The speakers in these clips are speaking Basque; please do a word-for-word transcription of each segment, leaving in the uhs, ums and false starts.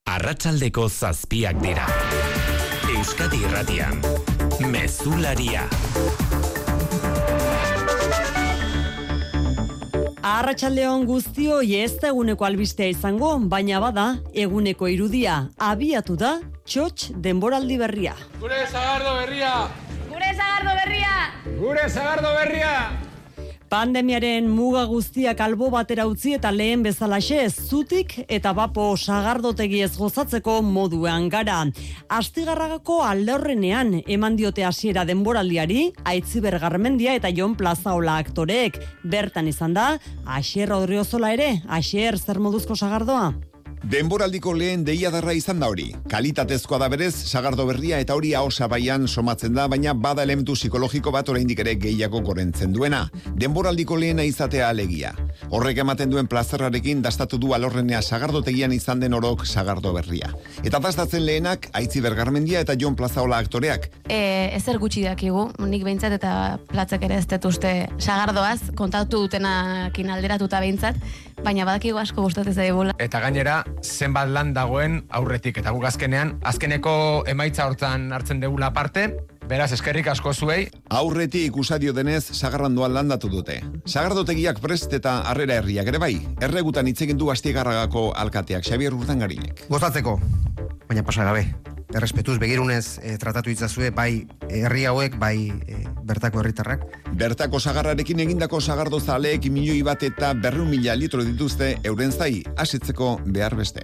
Arratsaldeko zazpiak dira. Euskadi Irratian, Mezularia. Arratsaldeon guztioi, ez da eguneko albistea izango, baina bada eguneko irudia. Abiatu da txotx denboraldi berria. Gure Sagardo berria! Gure Sagardo berria! Gure Sagardo berria! Pandemiaren muga guztiak albo batera utzi eta lehen bezalaxe zutik eta bapo sagardotegi ez gozatzeko moduan gara. Astigarragako aldorrenean eman diote hasiera denboraldiari Aitziber Garmendia eta Jon Plazaola aktoreek. Bertan izan da Asier Odriozola ere. Asier, zer moduzko sagardoa? Denboraldiko lehen deiadarra izan da hori. Kalitatezkoa da berez, sagardo berria eta hori ahosabaian somatzen da, baina bada elementu psikologiko bat oraindik ere gehiago gorentzen duena. Denboraldiko lehena izatea alegia. Horrek ematen duen plazerrarekin dastatu du alorrenea sagardotegian izan den orok sagardo berria. Eta dastatzen lehenak Aitziber Garmendia eta Jon Plazaola aktoreak. E, ezer gutxi dakigu, nik behintzat eta platzak ere ez dut uste sagardoaz, kontatu dutenakin alderatuta behintzat, baina badakigu asko gustatzen zaigula. Eta gainera, zenbat lan dagoen aurretik, eta guk azkenean, azkeneko emaitza hortan hartzen degula parte, beraz eskerrik asko zuei. Aurretik usadio denez, sagarrandoan landatu dute. Sagardotegiak prest eta harrera herriak ere bai, erregutan hitz egin du Astigarragako alkateak Xabier Urtangarinek. Gozatzeko, baina pasa gabe. Errespetuz begirunez e, tratatu itzazue bai herri hauek, bai e, bertako herritarrak. Bertako sagarrarekin egindako sagardo zaleek milioi bat eta berrehun mila litro dituzte euren zai, asitzeko behar beste.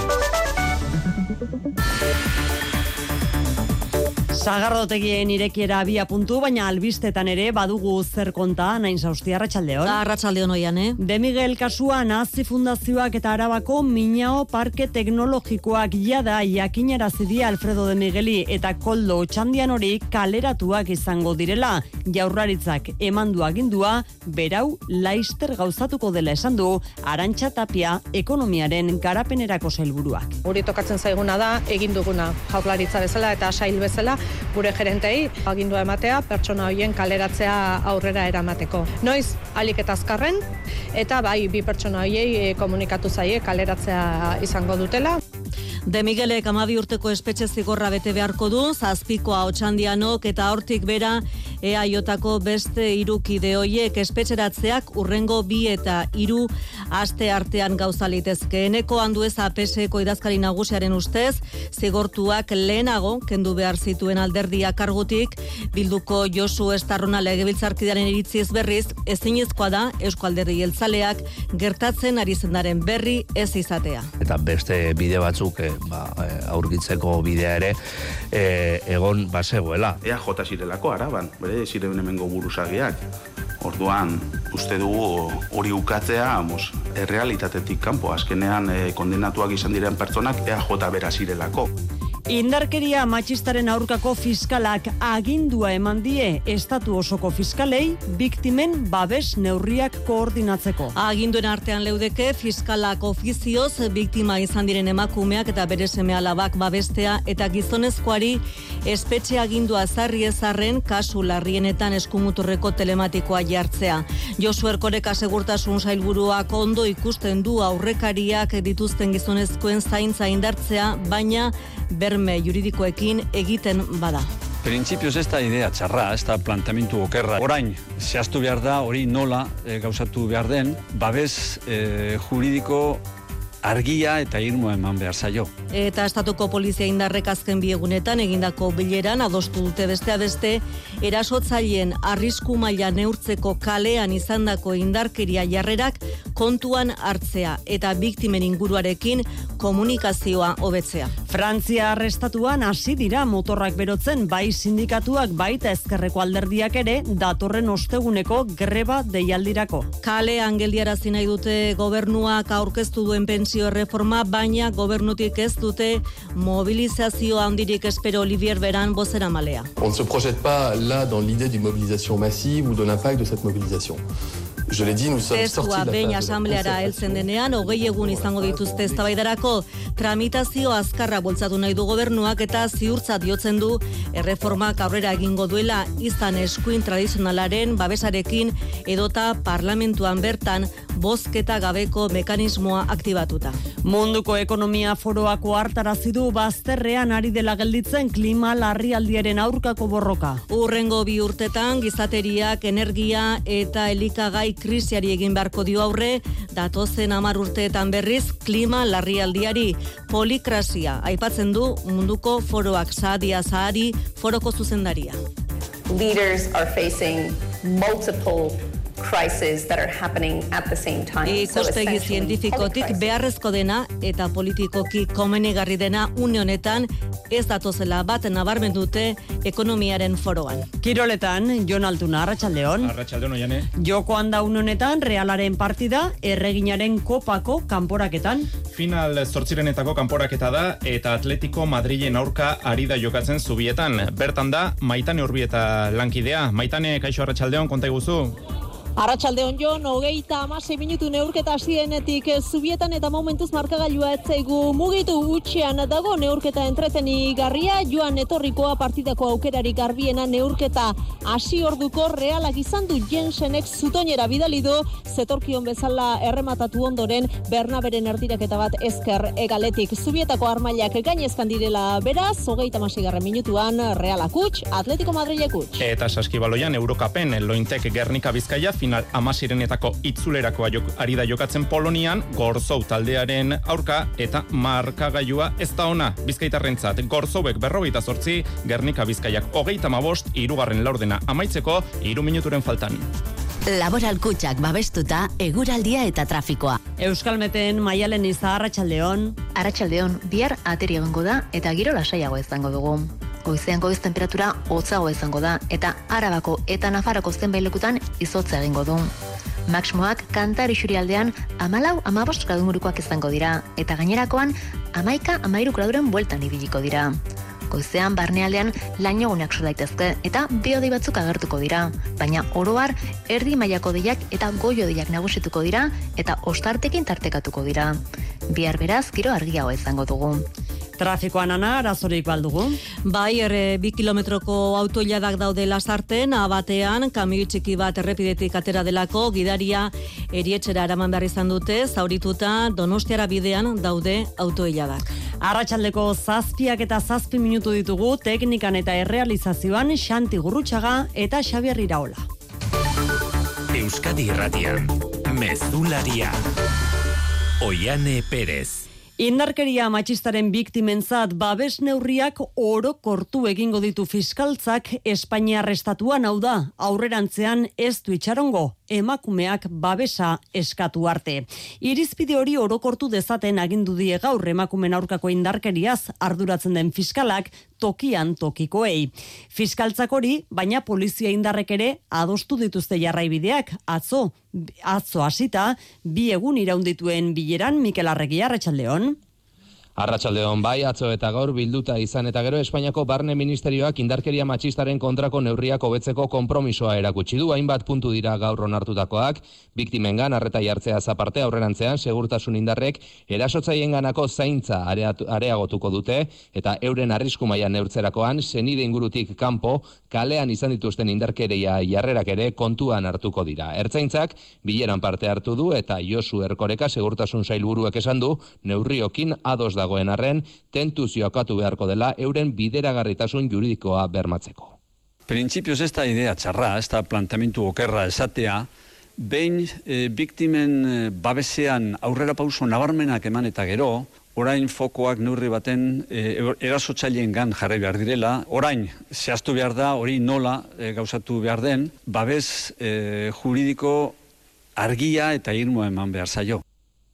Sagardotegien irekiera abia puntu, baina albistetan ere badugu zer konta, nain sausti, arratsaldeon. Arratsaldeon oian, eh? De Miguel kasua Nazi Fundazioak eta Arabako Miñao Parke Teknologikoak jada jakinarazi die Alfredo de Migueli eta Koldo Otxandian hori kaleratuak izango direla. Jaurlaritzak emandu agindua, berau laister gauzatuko dela esan du Arantxa Tapia ekonomiaren garapenerako sailburuak. Guri tokatzen zaiguna da egin duguna Jaurlaritza bezala eta sail bezala gure gerentei agindua ematea pertsona horien kaleratzea aurrera eramateko. Noiz ahalik eta azkarren eta bai bi pertsona horiei komunikatu zaie kaleratzea izango dutela. De Miguelek hamabi urteko espetxe zigorra bete beharko du, zazpikoa Otxandianok eta hortik bera E A Jko beste hiru kide hoiek espetxeratzeak urrengo bi eta hiru aste artean gauza litezke. Eneko Andueza P S Eko idazkari nagusiaren ustez, zigortuak lehenago kendu behar zituen alderdia kargutik, Bilduko Josu Estarrona legebiltzarkidearen iritziz berriz, ezinezkoa da Eusko Alderdi Jeltzaleak gertatzen ari zendaren berri ez izatea. Eta beste bide batzuk ba, aurkitzeko bidea ere e, egon bazegoela. E A J zirelako Araban, bere ziren hemengo buruzagiak. Orduan, uste dugu hori ukatzea, mos, errealitatetik kanpo, azkenean e, kondenatuak izan diren pertsonak E A J bera zirelako. Indarkeria matxistaren aurkako fiskalak agindua eman die estatu osoko fiskalei biktimen babes neurriak koordinatzeko. Aginduen artean leudeke fiskalak ofizioz biktima izan diren emakumeak eta bere seme-alabak babestea eta gizonezkoari espetxe agindua zarri ezarren kasu larrienetan eskumuturreko telematikoa jartzea. Josu Erkoreka segurtasun sailburuak ondo ikusten du aurrekariak dituzten gizonezkoen zaintza indartzea, baina berme juridikoekin egiten bada. Printzipioz ez da idea txarra, ez da plantamentu okerra. Orain, zehaztu behar da, hori nola e, gauzatu behar den, babes e, juridiko argia eta irmoa eman behar zaio. Eta estatuko polizia indarrek azken biegunetan egindako bileran adostu dute beste beste erasotzaileen arrisku maila neurtzeko kalean izandako indarkeria jarrerak kontuan hartzea eta biktimen inguruarekin komunikazioa hobetzea. Frantzia arrestatuan hasi dira motorrak berotzen bai sindikatuak baita ezkerreko alderdiak ere datorren osteguneko greba deialdirako. Kalean geldiarazi nahi dute gobernuak aurkeztu duen pentsio erreforma, baina gobernutik ez dute mobilizazio handirik espero Olivier Beran bozeramalea. On ne se projette pas là dans l'idée d'une mobilisation massive ou de l'impact de cette mobilisation. Je l'ai dit, nous sommes sortis de la behin asambleara heltzen denean, hogei egun izango dituzte eztabaidarako tramitazio azkarra bultzatu nahi du gobernuak eta ziurtzat jotzen du erreformak aurrera egingo duela izan eskuin tradizionalaren babesarekin edota parlamentuan bertan bozketa gabeko mekanismoa aktibatuta. Munduko ekonomia foroak ohartarazi du bazterrean ari dela gelditzen klima larrialdiaren aurkako borroka. Urrengo bi urtetan gizateriak energia eta elikagai krisiari egin beharko dio aurre, datozen hamar urteetan berriz klima larrialdiari. Polikrasia aipatzen du munduko foroak Saadia Sahari foroko zuzendaria. Leaders are facing multiple crises that are happening at the same time. Ikustegi zientifikotik beharrezko dena eta politikoki komenigarri dena une honetan ez datozela bat nabarmen dute ekonomiaren foroan. Kiroletan, Jon Altuna, Arratsaldeon. Arratsaldeon, Oiane. Jokoan da une honetan Realaren partida erreginaren kopako kanporaketan. Final zortzirenetako kanporaketa da eta Atletico Madrilen aurka ari da jokatzen Zubietan. Bertan da Maitane Urbieta lankidea. Maitane, kaixo Arratsaldeon, konta iguzu. Arratsaldeon Jon, hogeita hamasei minutu neurketa hasienetik Zubietan eta momentuz markagailua ez zaigu mugitu utxean dago neurketa entretenigarria, joan etorrikoa partidako aukerari garbiena neurketa hasi orduko Realak izan du Jensenek zutoinera bidali du, zetorkion bezala errematatu ondoren Bernaberen erdiraketa bat ezker egaletik. Zubietako armailak gainezkan direla beraz, hogeita hamaseigarren minutuan Realak huts, Atletico Madrilek huts. Eta saskibaloian Eurokapen Lointek Gernika Bizkaia final amazirenetako itzulerakoa jok, ari da jokatzen Polonian, Gorzou taldearen aurka eta markagailua ez da ona Bizkaitarrentzat. Gorzouek berrogeita zortzi, Gernika Bizkaiak hogeita hamabost, hirugarren laurdena amaitzeko hiru minuturen faltan. Laboral Kutxak babestuta eguraldia eta trafikoa. Euskalmeten Maialen Iza, Arratsaldeon. Arratsaldeon, bihar ateri egongo da eta giro lasaiago izango dugu. Goizean goiz temperatura hotzago izango da eta Arabako eta Nafarroko zenbait lekutan izotza egingo du. Maximoak Kantar isurialdean hamalau hamabost gradu ingurukoak izango dira eta gainerakoan hamaika hamairu graduren bueltan ibiliko dira. Goizean barnealdean lainoguneak sor daitezke eta bi-hodei batzuk agertuko dira, baina oro har erdi mailako deiak eta goi-hodeiak nagusituko dira eta ostartekin tartekatuko dira. Bihar beraz giro argiago izango dugu. Trafikoan ana, arazorik baldugu? Bai, erre, bi kilometroko autoiladak daude lasarten, abatean, kamioi txiki bat errepidetik atera delako, gidaria erietxera eraman behar izan dute, zaurituta Donostiara bidean daude autoiladak. Arratsaldeko zazpiak eta zazpi minutu ditugu, teknikan eta errealizazioan Xanti Gurrutxaga eta Xabier Iraola. Euskadi Irratian, Mezularia, Oiane Perez. Indarkeria matxistaren biktimentzat babes neurriak orokortu egingo ditu fiskaltzak Espainiar estatuan, hau da, aurrerantzean ez du itxarongo, emakumeak babesa eskatu arte. Irizpide hori orokortu dezaten agindu die gaur emakumen aurkako indarkeriaz arduratzen den fiskalak tokian tokikoei. Fiskaltzak hori, baina polizia indarrek ere adostu dituzte jarraibideak, atzo, atzo hasita, bi egun iraundituen bileran, Mikel Arregi, Arratsaldeon. Arratsaldeon, bai, atzo eta gaur bilduta izan eta gero Espainiako Barne Ministerioak indarkeria matxistaren kontrako neurriak hobetzeko konpromisoa erakutsi du. Hainbat puntu dira gaur onartutakoak, biktimengan arreta jartzea aparte aurrerantzean segurtasun indarrek erasotzaienganako zaintza areatu, areagotuko dute eta euren arrisku maila neurtzerakoan senide ingurutik kanpo kalean izan dituzten indarkeria jarrerak ere kontuan hartuko dira. Ertzaintzak bileran parte hartu du eta Josu Erkoreka segurtasun sailburuak esan du neurriokin ados dagoen arren, tentuz jokatu beharko dela euren bideragarritasun juridikoa bermatzeko. Printzipioz ez da idea txarra, ez da planteamentu okerra esatea, behin e, biktimen e, babesean aurrera pauso nabarmenak eman eta gero, orain fokoak neurri baten e, erasotzaileen gan jarri behar direla, orain zehaztu behar da, hori nola e, gauzatu behar den, babes e, juridiko argia eta irmoa eman behar zaio.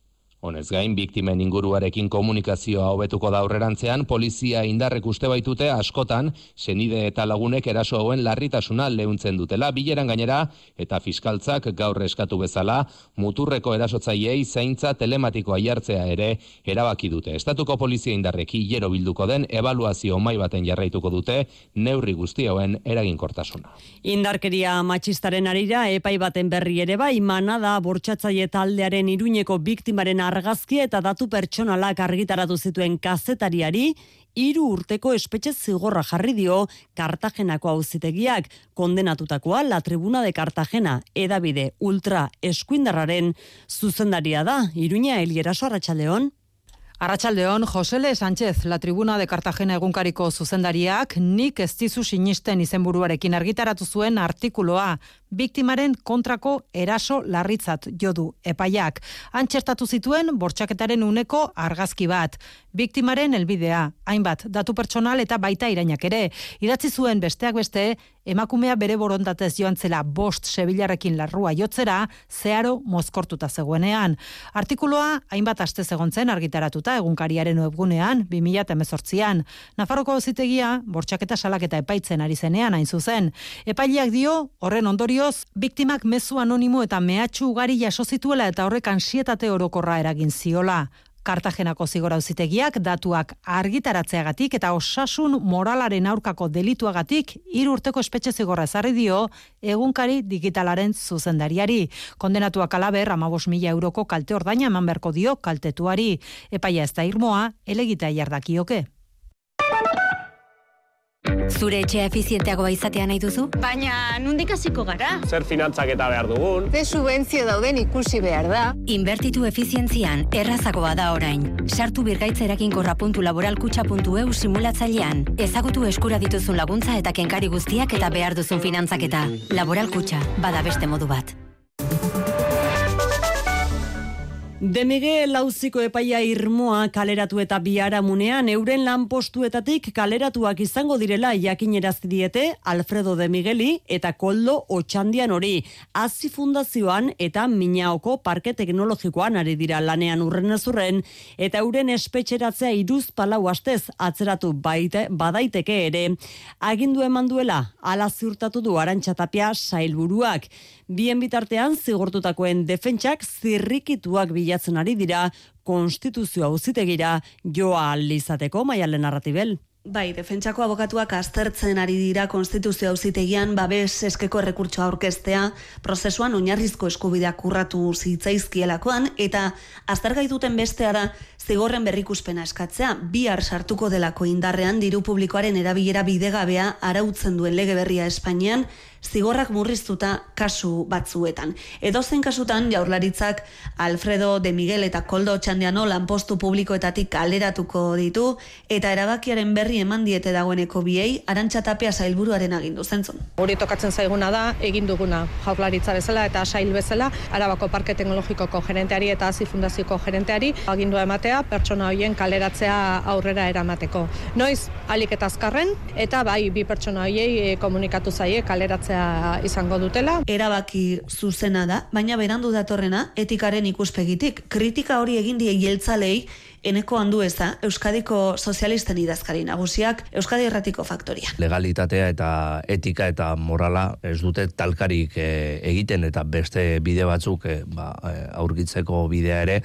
Honez gain, biktimen inguruarekin komunikazioa hobetuko da aurrerantzean, polizia indarrek uste baitute askotan, senide eta lagunek eraso hauen larritasuna leuntzen dutela, bileran gainera, eta fiskaltzak gaur eskatu bezala, muturreko erasotzaileei zaintza telematikoa jartzea ere erabaki dute. Estatuko polizia indarrek hilero bilduko den, ebaluazio mai baten jarraituko dute, neurri guzti hauen eraginkortasuna. Indarkeria matxistaren arira, epai baten berri ere bai, Manada bortxatzaile taldearen Iruñeko biktimaren argazkia eta datu pertsonalak argitaratu zituen kazetariari hiru urteko espetxe zigorra jarri dio Kartagenako auzitegiak. Kondenatutakoa La Tribuna de Cartagena, hedabide ultra eskuindarraren zuzendaria da. Iruña, Elieraso, Arratsaldeon. Arratsaldeon, Josele Sánchez, La Tribuna de Cartagena egunkariko zuzendariak, nik ez dizu sinisten izenburuarekin argitaratu zuen artikuloa, biktimaren kontrako eraso larritzat jodu epaiak. Antxertatu zituen bortxaketaren uneko argazki bat. Biktimaren helbidea, hainbat datu pertsonal eta baita irainak ere. Idatzi zuen besteak beste, emakumea bere borondatez joan zela bost sebilarrekin larrua jotzera, zeharo mozkortuta zegoenean. Artikuloa hainbat aste egontzen argitaratuta egunkariaren webgunean bi mila hemezortzian. Nafarroko auzitegia bortxaketa salaketa epaitzen ari zenean hain zuzen. Epaileak dio, horren ondorioz, biktimak mezu anonimo eta mehatxu ugari jaso zituela eta horrek ansietate orokorra eragin ziola. Kartagenako zigor auzitegiak datuak argitaratzeagatik eta osasun moralaren aurkako delituagatik hiru urteko espetxe zigorra ezarri dio egunkari digitalaren zuzendariari. Kondenatuak halaber hamabost mila euroko kalte ordaina eman beharko dio kaltetuari. Epaia ez da irmoa, helegita jardakioke. Zure etxea efizienteagoa izatea nahi duzu? Baina, nondik hasiko gara? Zer finantzaketa behar dugun? Ze subentzio dauden ikusi behar da. Inbertitu efizientzian errazagoa da orain. Sartu birgaitzerakinkorra puntu laboralkutxa puntu eu simulatzailean. Ezagutu eskura dituzun laguntza eta kenkari guztiak eta behar duzun finantzaketa. Laboralkutxa, bada beste modu bat. De Miguel auziko epaia irmoa kaleratu eta biharamunean euren lanpostuetatik kaleratuak izango direla jakinerazi diete Alfredo de Migueli eta Koldo Otxandian hori. Hazi fundazioan eta Minaoko Parke Teknologikoan ari dira lanean urrenezurren eta euren espetxeratzea hiruzpalau astez atzeratu baite, badaiteke ere. Agindu eman duela, hala ziurtatu du Arantxa Tapia sailburuak. Bien bitartean zigortutakoen defentsak zirrikituak bilatzen ari dira konstituzio auzitegira joa ahal izateko. Maialen Arratibel. Bai, defentsako abokatuak aztertzen ari dira konstituzio auzitegian babes eskeko errekurtsoa aurkeztea prozesuan oinarrizko eskubideak urratu zitzaizkielakoan eta aztergai duten bestea da zigorren berrikuspena eskatzea bihar sartuko delako indarrean diru publikoaren erabilera bidegabea arautzen duen lege berria Espainian zigorrak murriztuta kasu batzuetan. Edozein kasutan Jaurlaritzak Alfredo de Miguel eta Koldo Otxandiano lanpostu publikoetatik kaleratuko ditu eta erabakiaren berri eman diete dagoeneko biei Arantxa Tapia sailburuaren agindu zentzun. Hori tokatzen zaiguna da egin duguna Jaurlaritza bezala eta sail bezala Arabako Parke Teknologikoko gerenteari eta Hazi Fundazioko gerenteari agindua ematea pertsona horien kaleratzea aurrera eramateko. Noiz ahalik eta azkarren eta bai bi pertsona horiei komunikatu zaie kaleratzea izango dutela. Erabaki zuzena da, baina berandu datorrena etikaren ikuspegitik. Kritika hori egin die jeltzalei Eneko Andueza, Euskadiko sozialisten idazkari nagusiak, Euskadi Irratiko Faktoria. Legalitatea eta etika eta morala ez dute talkarik e, egiten eta beste bide batzuk e, ba, aurkitzeko bidea ere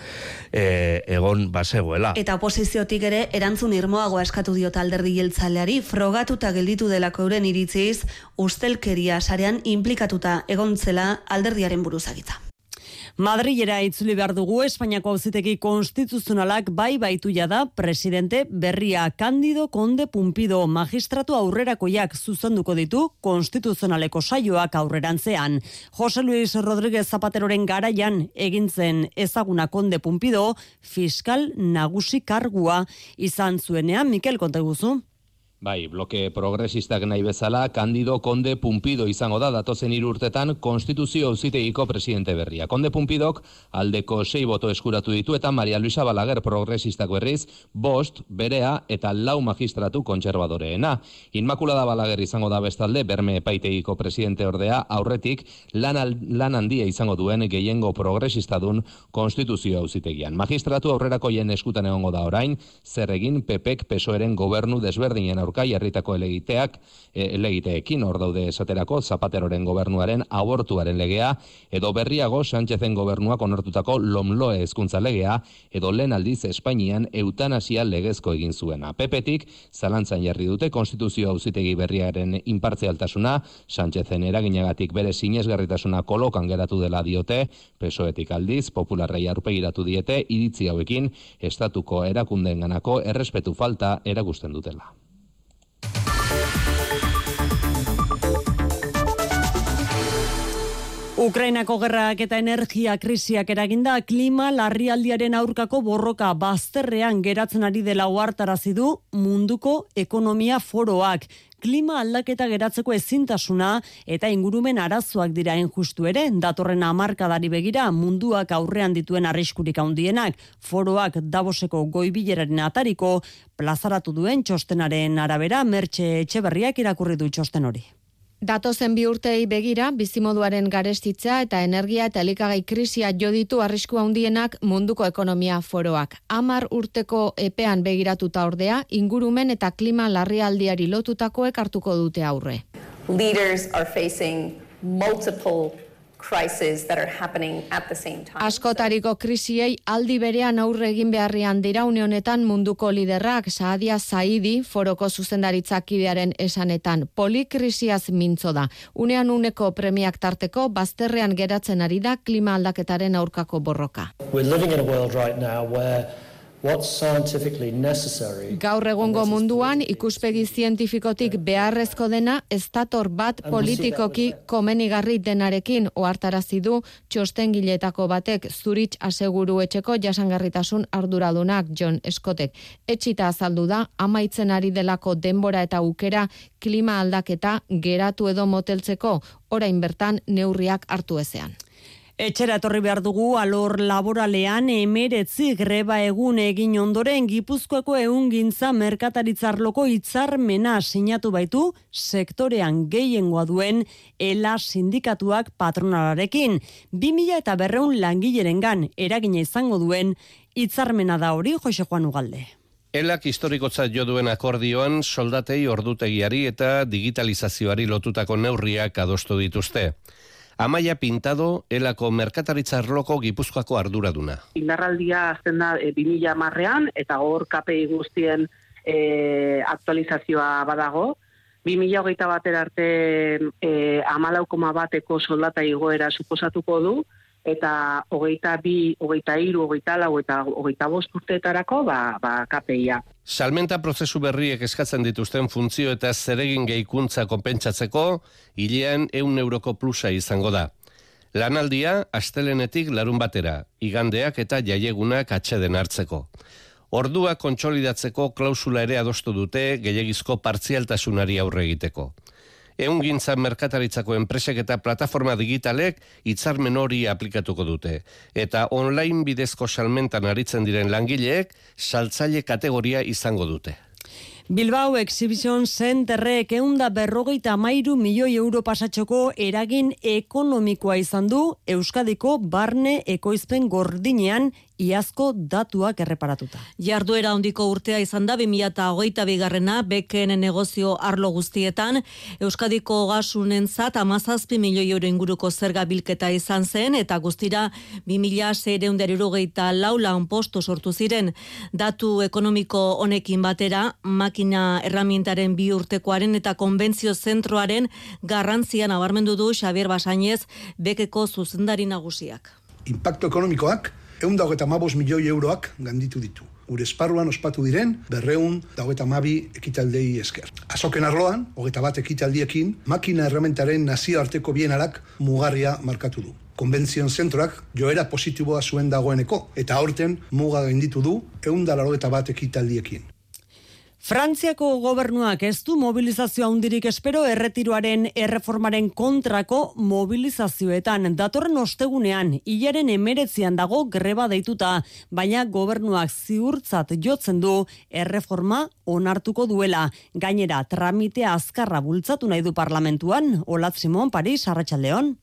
e, egon bazegoela. Eta oposiziotik ere erantzun irmoagoa eskatu diot alderdi jeltzaleari, frogatuta gelditu delako euren iritziz, ustelkeria sarean inplikatuta egontzela alderdiaren buruzagitza. Madrilera itzuli behar dugu Espainiako auzitegi konstituzionalak bai baitu jada presidente berria Cándido Conde Pumpido magistratu aurrerakoiak zuzenduko ditu konstituzionaleko saioak aurrerantzean. Jose Luis Rodríguez Zapateroren garaian egintzen ezaguna Conde Pumpido fiskal nagusi kargua izan zuenean. Mikel, konta guzu. Bai, bloke progresistak nahi bezala, Cándido Conde Pumpido izango da datozen hiru urtetan konstituzio auzitegiko presidente berria. Conde Pumpidok aldeko sei boto eskuratu ditu eta Maria Luisa Balaguer progresistak berriz, bost, berea eta lau magistratu kontserbadoreena. Inmaculada Balaguer izango da bestalde, Berme epaitegiko presidente ordea, aurretik lan, lan handia izango duen gehiengo progresistadun konstituzio auzitegian. Magistratu aurrerakoien eskutan egongo da orain, zer egin P Pek P S O Eren gobernu desberdinen aurretik aurka jarritako helegiteak, helegiteekin hor daude esaterako Zapateroren gobernuaren abortuaren legea, edo berriago Sánchezen gobernuak onartutako Lomloe hezkuntza legea, edo lehen aldiz Espainian eutanasia legezko egin zuena. P P-tik zalantzan jarri dute konstituzio auzitegi berriaren inpartzialtasuna, Sánchezen eraginagatik bere sinesgarritasuna kolokan geratu dela diote, P S O E-tik aldiz popularrei aurpegiratu diete iritzi hauekin estatuko erakundeenganako errespetu falta erakusten dutela. Ukrainako gerrak eta energia krisiak eraginda klima larrialdiaren aurkako borroka bazterrean geratzen ari dela ohartarazi du munduko ekonomia foroak. Klima aldaketa geratzeko ezintasuna eta ingurumen arazoak dira injustu ere, datorren hamarkadari begira munduak aurrean dituen arriskurik handienak. Foroak Davoseko goi-bileraren atariko plazaratu duen txostenaren arabera, Mertxe Etxeberriak irakurri du txosten hori. Datozen bi urtei begira, bizimoduaren garestitza eta energia eta elikagai krisia jo ditu arrisku handienak munduko ekonomia foroak. Hamar urteko epean begiratuta ordea, ingurumen eta klima larrialdiari lotutakoek hartuko dute aurre. Leaders are facing multiple crises that are happening at the same time. Askotariko krisiei aldi berean aurre egin beharrean dira une honetan munduko liderrak. Saadia Saidi foroko zuzendaritzakidearen esanetan polikrisiaz mintzo da. Unean uneko premiak tarteko bazterrean geratzen ari da klima aldaketaren aurkako borroka. We're living in a world right now where what's scientifically necessary. Gaur egungo munduan ikuspegi zientifikotik beharrezko dena ez dator bat politikoki komenigarri denarekin, ohartarazi du txostengileetako batek Zurich aseguru etxeko jasangarritasun arduradunak John Scottek. Etxita azaldu da amaitzen ari delako denbora eta aukera klima aldaketa geratu edo moteltzeko, orain bertan neurriak hartu ezean. Etxera etorri behar dugu alor laboralean emeretzi greba egun egin ondoren Gipuzkoako ehungintza merkataritzarloko hitzarmena sinatu baitu sektorean gehiengoa duen ELA sindikatuak patronalarekin. Bi mila eta berreun langilerengan eragina izango duen hitzarmena da hori, Jose Juan Ugalde. Elak historikotzat jo duen akordioan soldatei ordutegiari eta digitalizazioari lotutako neurriak adostu dituzte. Amaia Pintado, Elako merkataritza arloko Gipuzkoako arduraduna. Indarraldia azten da e, bi mila hamarrean eta hor K P I guztien e, aktualizazioa badago. bi mila hogeita batera arte e, hamalau koma bateko soldata igoera suposatuko du, eta hogeita bi, hogeita hiru, hogeita lau eta hogeita bost urteetarako ba, ba K P I-a. Salmenta prozesu berriek eskatzen dituzten funtzio eta zeregin gehikuntza konpentsatzeko, hilean ehun euroko plusa izango da. Lanaldia, astelenetik larun batera, igandeak eta jaiegunak atxeden hartzeko. Ordua kontsolidatzeko klausula ere adostu dute gehiagizko partzialtasunari aurre egiteko. Ehungintza merkataritzako enpresek eta plataforma digitalek hitzarmen hori aplikatuko dute. Eta online bidezko salmentan aritzen diren langileek saltzaile kategoria izango dute. Bilbao Exhibition Centerrek eunda berrogeita amairu milioi euro pasatxoko eragin ekonomikoa izan du Euskadiko barne ekoizpen gordinean iazko datuak erreparatuta. Jarduera handiko urtea izan da bi mila hogeita bigarrena beken negozio arlo guztietan, Euskadiko gasunentzat hamazazpi milioi euro inguruko zerga bilketa izan zen eta guztira bi mila seiehun eta hirurogeita lau lanpostu sortu ziren. Datu ekonomiko honekin batera, makina erramientaren bi urtekoaren eta konbentzio zentroaren garrantzian nabarmendu du Xabier Basainez bekeko zuzendari nagusiak. Impacto ekonomikoak ehun eta hogeita hamabost milioi euroak ganditu ditu. Gure esparruan ospatu diren berrehun eta hogeita hamabi ekitaldei esker. Azoken arloan, hogeita bat ekitaldiekin, makina errementaren nazioarteko bienarak mugarria markatu du. Konbentzion zentroak joera positiboa zuen dagoeneko, eta aurten muga gainditu du ehun eta laurogeita bat ekitaldiekin. Frantziako gobernuak ez du mobilizazio handirik espero erretiroaren erreformaren kontrako mobilizazioetan. Datorren ostegunean, hilaren emeretzian dago greba deituta, baina gobernuak ziurtzat jotzen du erreforma onartuko duela. Gainera, tramitea azkarra bultzatu nahi du parlamentuan. Olat Simon, Paris, Arratsaldeon.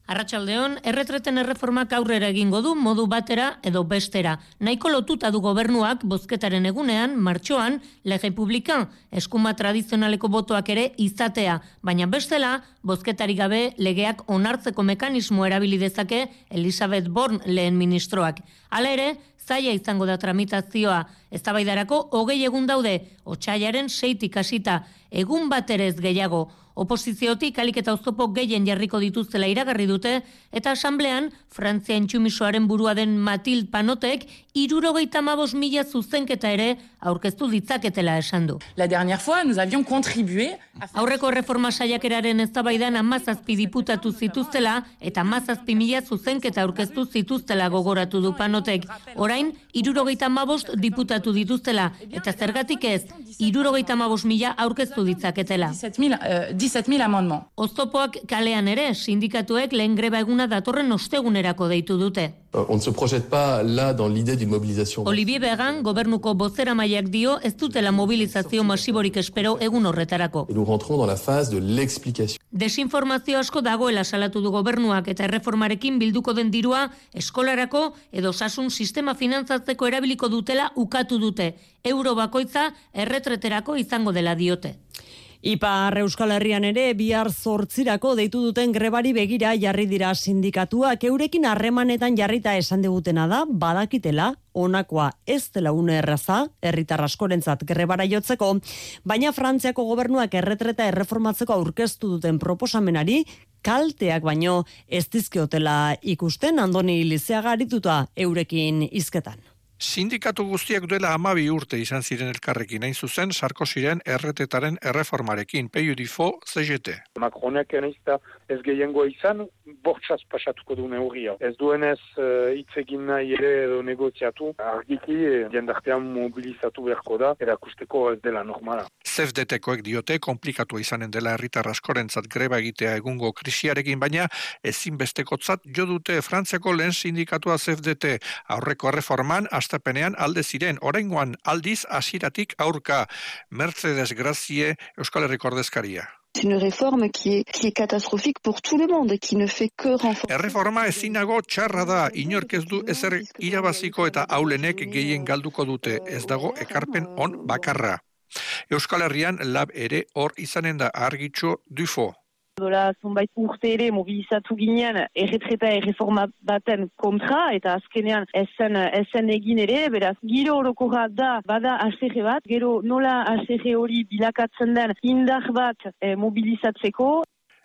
Arratsaldeon, erretreten erreformak aurrera egingo du modu batera edo bestera. Nahiko lotuta du gobernuak bozketaren egunean, martxoan, lege publikan, eskuma tradizionaleko botoak ere izatea, baina bestela, bozketari gabe legeak onartzeko mekanismo erabili dezake Elizabeth Born lehen ministroak. Hala ere, zaila izango da tramitazioa, eztabaidarako hogei egun daude, otsailaren seitik hasita, egun bat ere ez gehiago. Oposiziotik alik eta oztopo gehien jarriko dituztela iragarri dute, eta asamblean, Frantzia intsumisoaren burua den Mathilde Panotek, hirurogeita hamabost mila zuzenketa ere aurkeztu ditzaketela esan du. La dernière fois, nous avions contribué Aurreko reforma saiakeraren eztabaidan hamazazpi diputatu zituztela eta hamazazpi mila zuzenketa aurkeztu zituztela gogoratu du Panotek. Orain, hirurogeita hamabost diputatu dituztela, eta zergatik ez, hirurogeita hamabost mila aurkeztu ditzaketela. dix-sept mille amendements. Oztopoak kalean ere, sindikatuek lehen greba eguna datorren ostegunerako deitu dute. On ne se projette pas là dans l'idée d'une mobilisation. Olivier Began, gobernuko bozeramaileak dio, ez dutela mobilizazio masiborik espero egun horretarako. Et nous rentrons dans la phase de l'explication. Desinformazio asko dagoela salatu du gobernuak eta erreformarekin bilduko den dirua eskolarako edo osasun sistema finantzatzeko erabiliko dutela ukatu dute. Euro bakoitza erretreterako izango dela diote. Ipar Euskal Herrian ere bihar zortzirako deitu duten grebari begira jarri dira sindikatuak, eurekin harremanetan jarrita esan digutena da badakitela honakoa ez dela une erraza herritar askorentzat grebara jotzeko, baina Frantziako gobernuak erretreta erreformatzeko aurkeztu duten proposamenari kalteak baino ez dizkiotela ikusten. Andoni Lizeaga arituta eurekin hizketan. Sindikatu guztiak duela hamabi urte izan ziren elkarrekin, hain zuzen Sarkoziren erretetaren erreformarekin, P U D F O C G T. Macronek naizta ez gehiengoa izan, bortxaz pasatuko du neurria. Ez duenez hitz uh, egin nahi ere edo negoziatu, argiki jendartean mobilizatu beharko da, erakusteko ez dela normala. C F D T-koek diote konplikatua izanen dela herritar askorentzat greba egitea egungo krisiarekin, baina ezinbestekotzat jo dute Frantziako lehen sindikatua C F D T. Aurreko erreforman astapenean alde ziren, oraingoan aldiz hasiratik aurka. Mercedes Gracie, Euskal Herriko ordezkaria. C'est une réforme qui est, qui est catastrophique pour tout le monde, qui ne fait que renforcer. Erreforma ezinago txarra da, inork ez du ezer irabaziko eta aulenek gehien galduko dute, ez dago ekarpen on bakarra. Euskal Herrian lab ere hor izanen da Argitxo Dufo. Dola zonbait urte ere mobilizatu ginean erretreta erreforma baten kontra eta azkenean ezen, ezen egin ere, beraz, giro orokorra da bada A C G bat, gero nola A C G hori bilakatzen den indar bat eh, mobilizatzeko.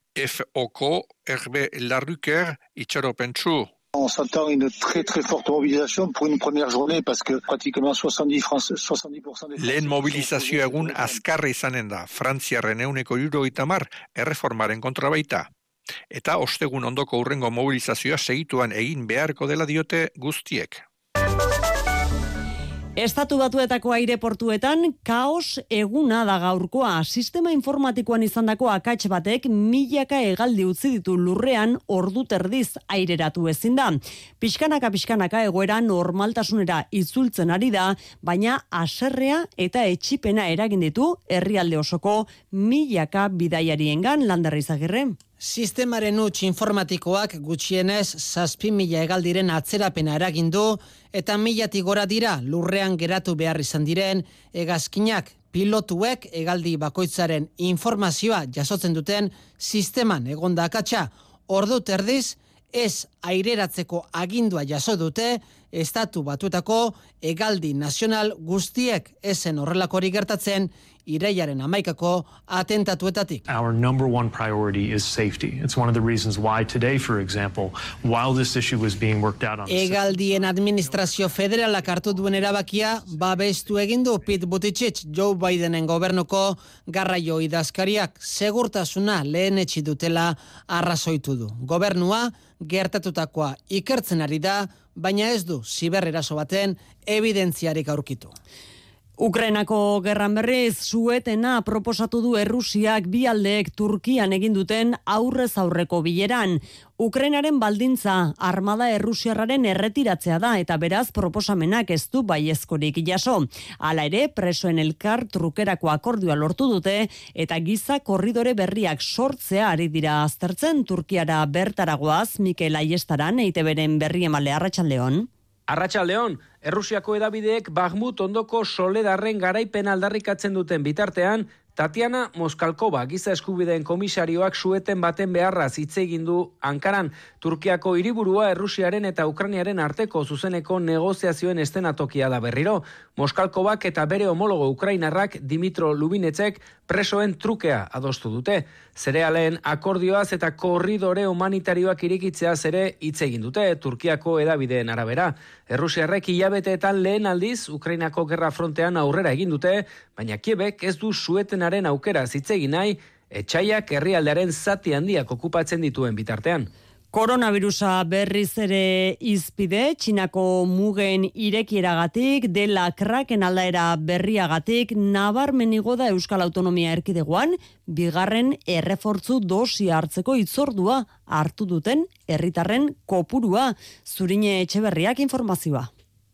F O Ko, Herbe Larruker, itxaropentsu. On s'attend une très très forte mobilisation pour une première journée parce que pratiquement soixante-dix pour cent des Lehen mobilizazio egun azkarra izanen da, Frantziarren ehuneko hirurogeita hamar erreformaren kontra baita. Eta ostegun ondoko hurrengo mobilizazioa segituan egin beharko dela diote guztiek. Estatu Batuetako aireportuetan kaos eguna da gaurkoa. Sistema informatikoan izandako akats batek milaka hegaldi utzi ditu lurrean ordu terdiz aireratu ezin da. Pixkanaka pixkanaka egoera normaltasunera itzultzen ari da, baina haserrea eta etxipena eragin ditu herrialde osoko milaka bidaiariengan. Lander Izagirre. Sistemaren huts informatikoak gutxienez zazpi mila hegaldiren atzerapena eragin du eta milatik gora dira lurrean geratu behar izan diren hegazkinak. Pilotuek hegaldi bakoitzaren informazioa jasotzen duten sisteman egonda akatsa. Ordu terdiz ez aireratzeko agindua jaso dute Estatu Batuetako hegaldi nazional guztiek. Ezen horrelakorik gertatzen irailaren hamaikako atentatuetatik. Our number one priority is safety. It's one of the reasons why today, for example, while this issue was being worked out on... Hegaldien administrazio federalak hartu duen erabakia babestu egin du Pete Buttigieg, Joe Bidenen gobernuko garraio idazkariak segurtasuna lehenetsi dutela arrazoitu du. Gobernua gertatutakoa ikertzen ari da, baina ez du ziberreraso baten evidentziarik aurkitu. Ukrainako gerran berriz, suetena proposatu du Errusiak bi aldeek Turkian egin duten aurrez aurreko bileran. Ukrainaren baldintza armada errusiarraren erretiratzea da eta beraz proposamenak ez du baiezkorik jaso. Hala ere, presoen elkar trukerako akordioa lortu dute eta giza korridore berriak sortzea ari dira aztertzen. Turkiara bertaragoaz, Mikel Aiestaran, E I Te Beren berri emale. Arratsaldeon. Arratsaldeon, Errusiako hedabideek Bakhmut ondoko Soledarren garaipen aldarrikatzen duten bitartean, Tatiana Moskalkova, giza eskubideen komisarioak sueten baten beharraz hitz egin du Ankaran. Turkiako hiriburua Errusiaren eta Ukrainiaren arteko zuzeneko negoziazioen eszenatokia da berriro. Moskalkovak eta bere homologo ukrainarrak Dimitro Lubinetsek presoen trukea adostu dute. Zerealen akordioaz eta korridore humanitarioak irikitzeaz ere hitz egin dute Turkiako hedabideen arabera. Errusiarrek hilabeteetan lehen aldiz Ukrainako gerra frontean aurrera egin dute, baina Kiebek ez du suetenaren aukera hitz egin nahi, etsaiak herrialdearen zati handiak okupatzen dituen bitartean. Koronavirusa berriz ere izpide, Txinako mugen irekieragatik, dela kraken aldaera berriagatik, nabarmenigo da Euskal Autonomia Erkidegoan, bigarren errefortzu dosia hartzeko hitzordua hartu duten herritarren kopurua. Zurine Etxeberriak informazioa.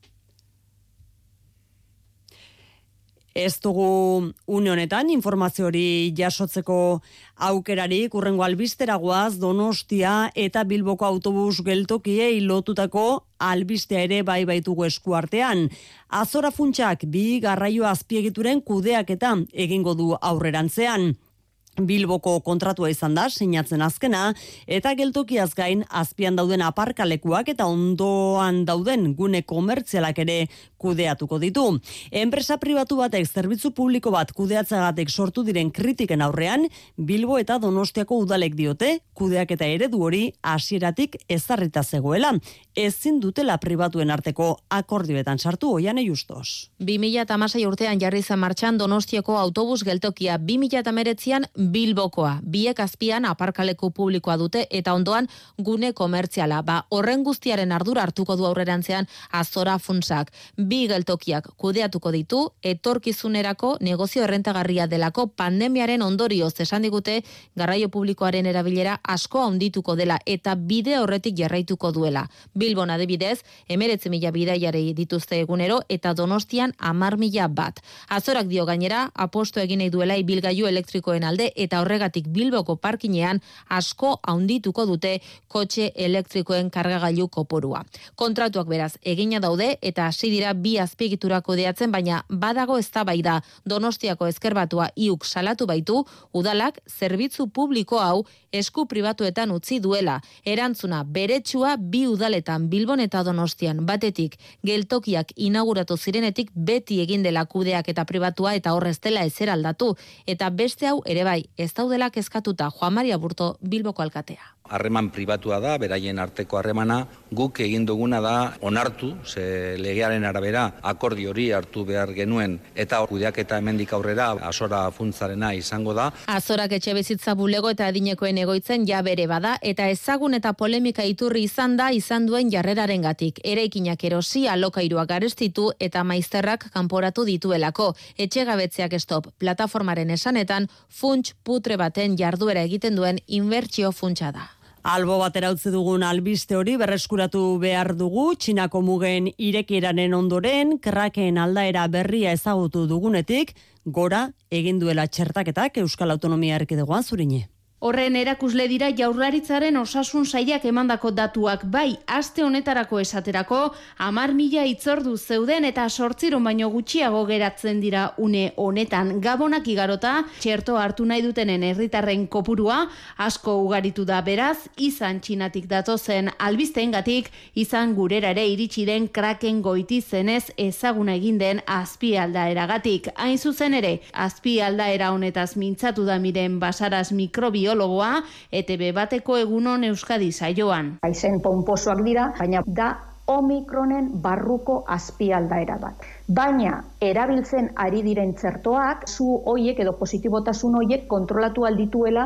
Ez dugu une honetan informazio hori jasotzeko aukerarik, urrengo albisteragoaz Donostia eta Bilboko autobus geltokiei lotutako albistea ere bai baitugu esku artean. Azora funtsak bi garraio azpiegituren kudeaketa egingo du aurrerantzean. Bilboko kontratua izan da, sinatzen azkena, eta geltokiaz gain azpian dauden aparkalekuak eta ondoan dauden gune komertzialak ere kudeatuko ditu. Enpresa pribatu batek zerbitzu publiko bat kudeatzagatik sortu diren kritiken aurrean, Bilbo eta Donostiako udalek diote, kudeaketa eredu hori hasieratik ezarrita zegoela. Ezin dutela pribatuen arteko akordioetan sartu. Oiane Justos. bi mila hamasei urtean jarri zen martxan Donostiako autobus geltokia, bi mila hemeretzian Bilbokoa, biek azpian aparkaleku publikoa dute eta ondoan gune komertziala. Ba, horren guztiaren ardura hartuko du aurrerantzean Azora funtsak. Bi geltokiak kudeatuko ditu, etorkizunerako negozio errentagarria delako pandemiaren ondorioz esan digute garraio publikoaren erabilera asko handituko dela eta bide horretik jarraituko duela. Bilbon adibidez, emeretzi mila bidaiari dituzte egunero eta Donostian hamar mila bat. Azorak dio gainera, aposto egin nahi duela ibilgailu elektrikoen alde eta horregatik Bilboko parkinean asko handituko dute kotxe elektrikoen kargagailu kopurua. Kontratuak beraz egina daude eta hasi dira bi azpiegitura kudeatzen, baina badago eztabaida. Donostiako ezkerbatua iuk salatu baitu, udalak zerbitzu publiko hau esku pribatuetan utzi duela. Erantzuna beretsua bi udaletan Bilbon eta Donostian batetik geltokiak inauguratu zirenetik beti egin dela kudeak eta pribatua eta horrez dela ezer aldatu. Eta beste hau ere bai, ez daudela kezkatuta Juan Maria Burto Bilboko alkatea. Harreman pribatua da, beraien arteko harremana, guk egin duguna da onartu, ze legearen arabera akordio hori hartu behar genuen eta kudeaketa hemendik aurrera Azora funtzarena izango da. Azorak etxebizitza bulego eta adinekoen egoitzen ja bere bada eta ezagun eta polemika iturri izan da izan duen jarrerarengatik. Eraikinak erosi, alokairuak garestitu eta maizterrak kanporatu dituelako. Etxegabetzeak stop plataformaren esanetan funts putre baten jarduera egiten duen inbertsio funtsa da. Albo batera utzi dugun albiste hori berreskuratu behar dugu, Txinako mugen irekieraren ondoren, kraken aldaera berria ezagutu dugunetik, gora egin duela txertaketak Euskal Autonomia Erkidegoan. Zurine. Horren erakusle dira Jaurlaritzaren osasun sailak emandako datuak, bai aste honetarako esaterako hamar mila hitzordu zeuden eta zortziehun baino gutxiago geratzen dira une honetan. Gabonak igarota, txerto hartu nahi dutenen herritarren kopurua asko ugaritu da, beraz, izan Txinatik datozen albisteengatik, izan gurera ere iritsi den kraken goiti zenez ezaguna egin den azpialdaeragatik. Hain zuzen ere, azpialdaera honetaz mintzatu da Miren Basaras mikrobio biologoa, E Te Be bateko egunon Euskadi saioan. Aizen ponposoak dira, baina da Omikronen barruko azpialdaera bat. Baina, erabiltzen ari diren txertoak, zu hoiek edo positibotasun hoiek kontrolatu aldituela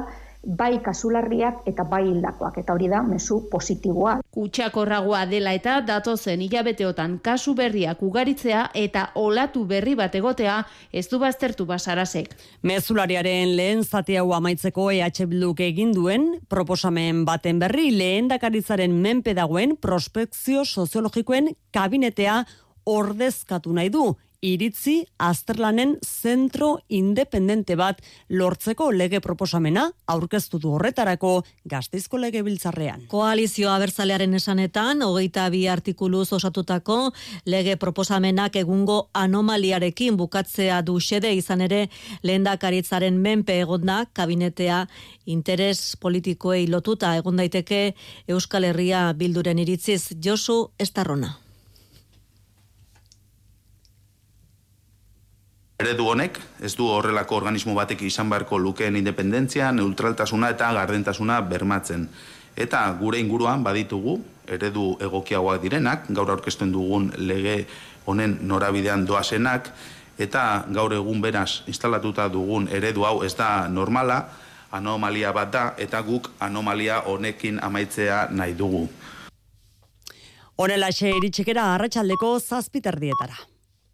bai kasularriak eta bai hildakoak, eta hori da mezu positiboa. Kutsakorragoa dela eta datozen hilabeteotan kasu berriak ugaritzea eta olatu berri bat egotea ez du baztertu Basarasek. Mezulariaren lehen zati hau amaitzeko E H Bilduk egin duen proposamen baten berri lehendakaritzaren menpe dagoen prospekzio soziologikoen kabinetea ordezkatu nahi du. Iritzi azterlanen zentro independente bat lortzeko lege proposamena aurkeztu du horretarako Gasteizko Legebiltzarrean. Koalizio abertzalearen esanetan, hogeita bi artikuluz osatutako lege proposamenak egungo anomaliarekin bukatzea du xede, izan ere lehendakaritzaren menpe egonda kabinetea interes politikoei lotuta egon daiteke Euskal Herria Bilduren iritziz. Josu Estarrona. Eredu honek ez du horrelako organismo batek izan beharko lukeen independentzia, neutraltasuna eta gardentasuna bermatzen. Eta gure inguruan baditugu eredu egokiagoak direnak, gaur aurkezten dugun lege honen norabidean doazenak, eta gaur egun beraz instalatuta dugun eredu hau ez da normala, anomalia bat da, eta guk anomalia honekin amaitzea nahi dugu. Honelaxe iritsikera arratsaldeko zazpiterdietara.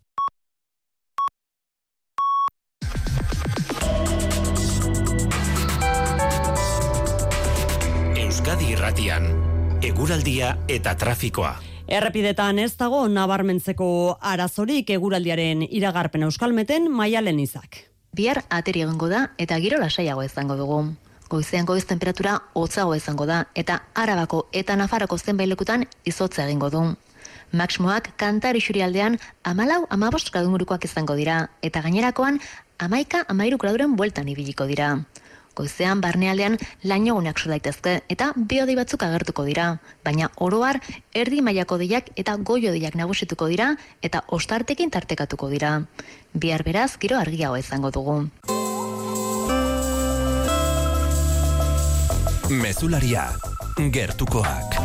Euskadi Irratian, eguraldia eta trafikoa. Errepidetan ez dago nabarmentzeko arazorik eguraldiaren iragarpen Euskalmeten Maialen Izak. Bihar ateri egongo da eta giro lasaiago izango dugu. Goizean goiz temperatura hotzago izango da eta Arabako eta Nafarroko zenbait lekutan izotza egingo du. Maximoak Kantari Xurialdean hamalau hamabost gradu ingurukoak izango dira eta gainerakoan hamaika hamairu graduren bueltan ibiliko dira. Goizean barnealdean lainoguneak so daitezke eta bi-hodei batzuk agertuko dira, baina oro har erdi mailako hodeiak eta goi-hodeiak nagusituko dira eta ostartekin tartekatuko dira. Bihar beraz giro argiagoa izango dugu. Mezularia, gertukoak.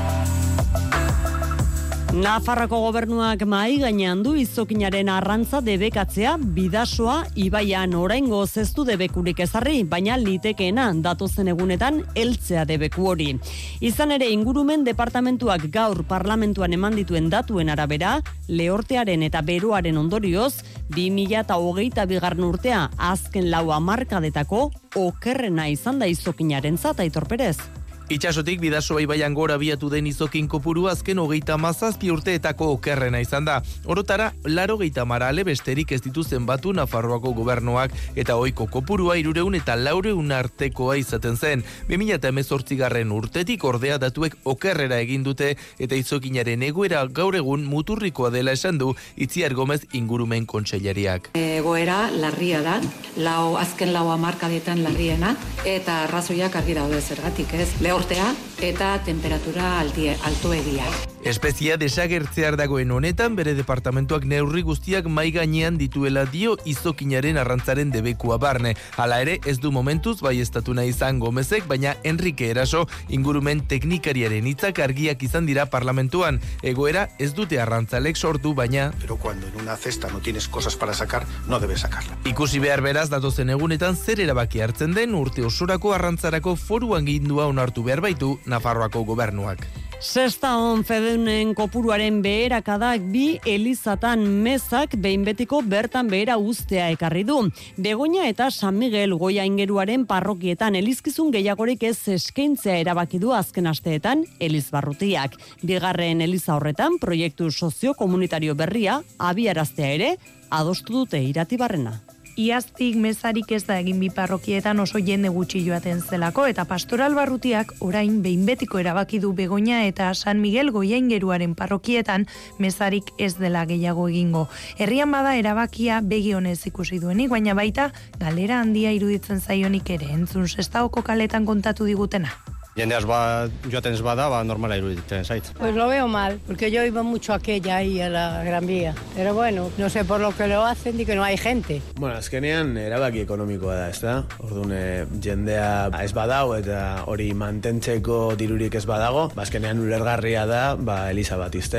Nafarroko gobernuak mahai gainean du izokinaren arrantza debekatzea bidasoa ibaian oraingoz ez du debekurik ezarri, baina litekeena datozen egunetan heltzea debeku hori. Izan ere ingurumen departamentuak gaur parlamentuan eman dituen datuen arabera, lehortearen eta beroaren ondorioz, bi mila hogeita bigarren urtea azken lau hamarkadetako okerrena izan da izokinarentzat, Aitor Perez. Itxasotik bidasoa ibaian gora biatu den izokin kopuru azken hogeita mazazpi urteetako okerrena izan da. Orotara, laro geita marale besterik ez dituzen batu Nafarroako gobernuak eta ohiko kopurua irureun eta laureun artekoa izaten zen. bi mila hemezortzigarren urtetik ordea datuek okerrera egin dute eta izokinaren egoera gaur egun muturrikoa dela esan du Itziar Gomez ingurumen kontseilariak. Egoera larria da, lau, azken lau hamarkadetan larriena eta arrazoiak argi daude zergatik ez. Lehortea eta temperatura altie, altuegia. Espezia desagertzear dagoen honetan bere departamentuak neurri guztiak mai gainean dituela dio izokinaren arrantzaren debekua barne. Hala ere ez du momentuz baieztatu nahi izan Gomezek, baina Enrique Eraso ingurumen teknikariaren hitzak argiak izan dira parlamentuan. Egoera ez dute arrantzalek sortu, baina... Pero cuando en una cesta no tienes cosas para sacar, no debes sacarla. Ikusi behar beraz datozen egunetan zer erabaki hartzen den urte osorako arrantzarako foru angindua onartu behar baitu Nafarroako gobernuak. Sexta on fedunen kopuruaren beherakadak bi elizatan mezak behin betiko bertan behera uztea ekarri du. Begoña eta San Miguel Goia ingeruaren parrokietan elizkizun gehiagorik ez eskaintzea erabaki du azken asteetan elizbarrutiak. Bigarren eliza horretan proiektu sozio-komunitario berria abiaraztea ere adostu dute Iratibarrena. Iaztik mezarik ez da egin bi parrokietan oso jende gutxi joaten zelako eta pastoral barrutiak orain behin betiko erabaki du Begoña eta San Miguel Goiaingeruaren parrokietan mezarik ez dela gehiago egingo. Herrian bada erabakia begi honez ikusi duenik, baina baita galera handia iruditzen zaionik ere, entzun Sestaoko kaletan kontatu digutena. Jendeaz ba, joaten ez bada, ba, normala iruditzen zait. Pues lo veo mal, porque yo iba mucho a aquella ahí, a la Gran Vía. Pero bueno, no sé por lo que lo hacen y que no hay gente. Bueno, azkenean erabaki ekonomikoa da, ez da? Orduan, e, jendea ez badago eta hori mantentzeko dirurik ez badago, ba, azkenean ulergarria da, ba, Eliza bat iztea.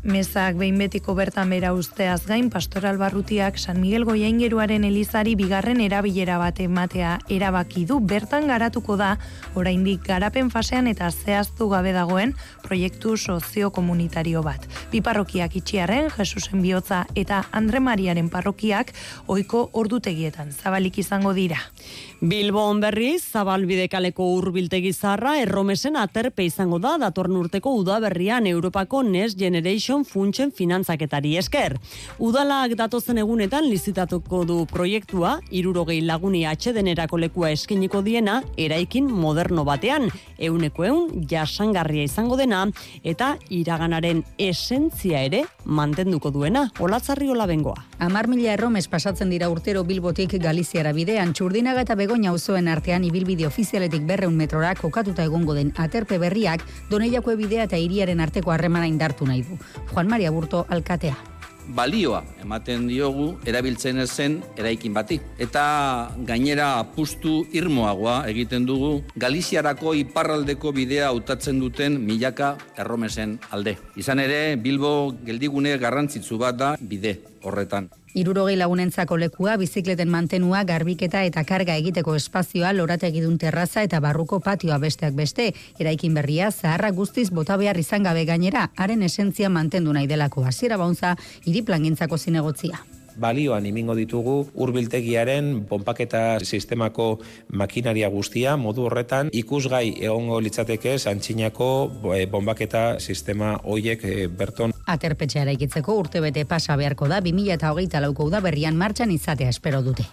Mezak behin betiko bertan bera usteaz gain, Pastoral Barrutiak San Miguel Goiaingeruaren elizari bigarren erabilera bat ematea erabaki du. Bertan garatuko da, oraindik garapen fasean eta zehaztu gabe dagoen proiektu soziokomunitario bat. Bi parrokiak itxiarren, Jesusen Bihotza eta Andre Mariaren parrokiak ohiko ordutegietan zabalik izango dira. Bilbon berriz, Zabalbidekaleko hurbiltegi zaharra erromesen aterpe izango da datorren urteko udaberrian Europako Next Generation funtsen finantzaketari esker. Udalak datozen egunetan lizitatuko du proiektua, hirurogei laguni atsedenerako lekua eskeniko diena, eraikin moderno batean, euneko eun jasangarria izango dena, eta iraganaren esentzia ere mantenduko duena. Olatzarri Olabengoa. Amar mila erromes pasatzen dira urtero Bilbotik Galiziara bidean, Txurdinaga eta Begoña auzoen artean ibilbide ofizialetik berreun metrora kokatuta egongo den aterpe berriak Doneiako bidea eta hiriaren arteko harremana indartu nahi du. Juan Maria Burto alkatea. Balioa ematen diogu erabiltzen zen eraikin bati. Eta gainera apustu irmoagoa egiten dugu Galiziarako iparraldeko bidea hautatzen duten milaka erromesen alde. Izan ere, Bilbo geldigune garrantzitsu bat da bide horretan. Hirurogei lagunentzako lekua, bizikleten mantenua, garbiketa eta karga egiteko espazioa, lorategidun terraza eta barruko patioa besteak beste. Eraikin berria, zaharra guztiz bota behar izan gabe gainera, haren esentzia mantendu nahi delako. Hasiera Bauntza, hiri plangintzako zinegotzia. Balioan imingo ditugu hurbiltegiaren ponpaketa sistemako makinaria guztia, modu horretan ikusgai egongo litzateke Antxinako bonbaketa sistema hoiek berton. Aterpetxea eraikitzeko urtebete pasa beharko da, bi mila hogeita lauko udaberrian martxan izatea espero dute.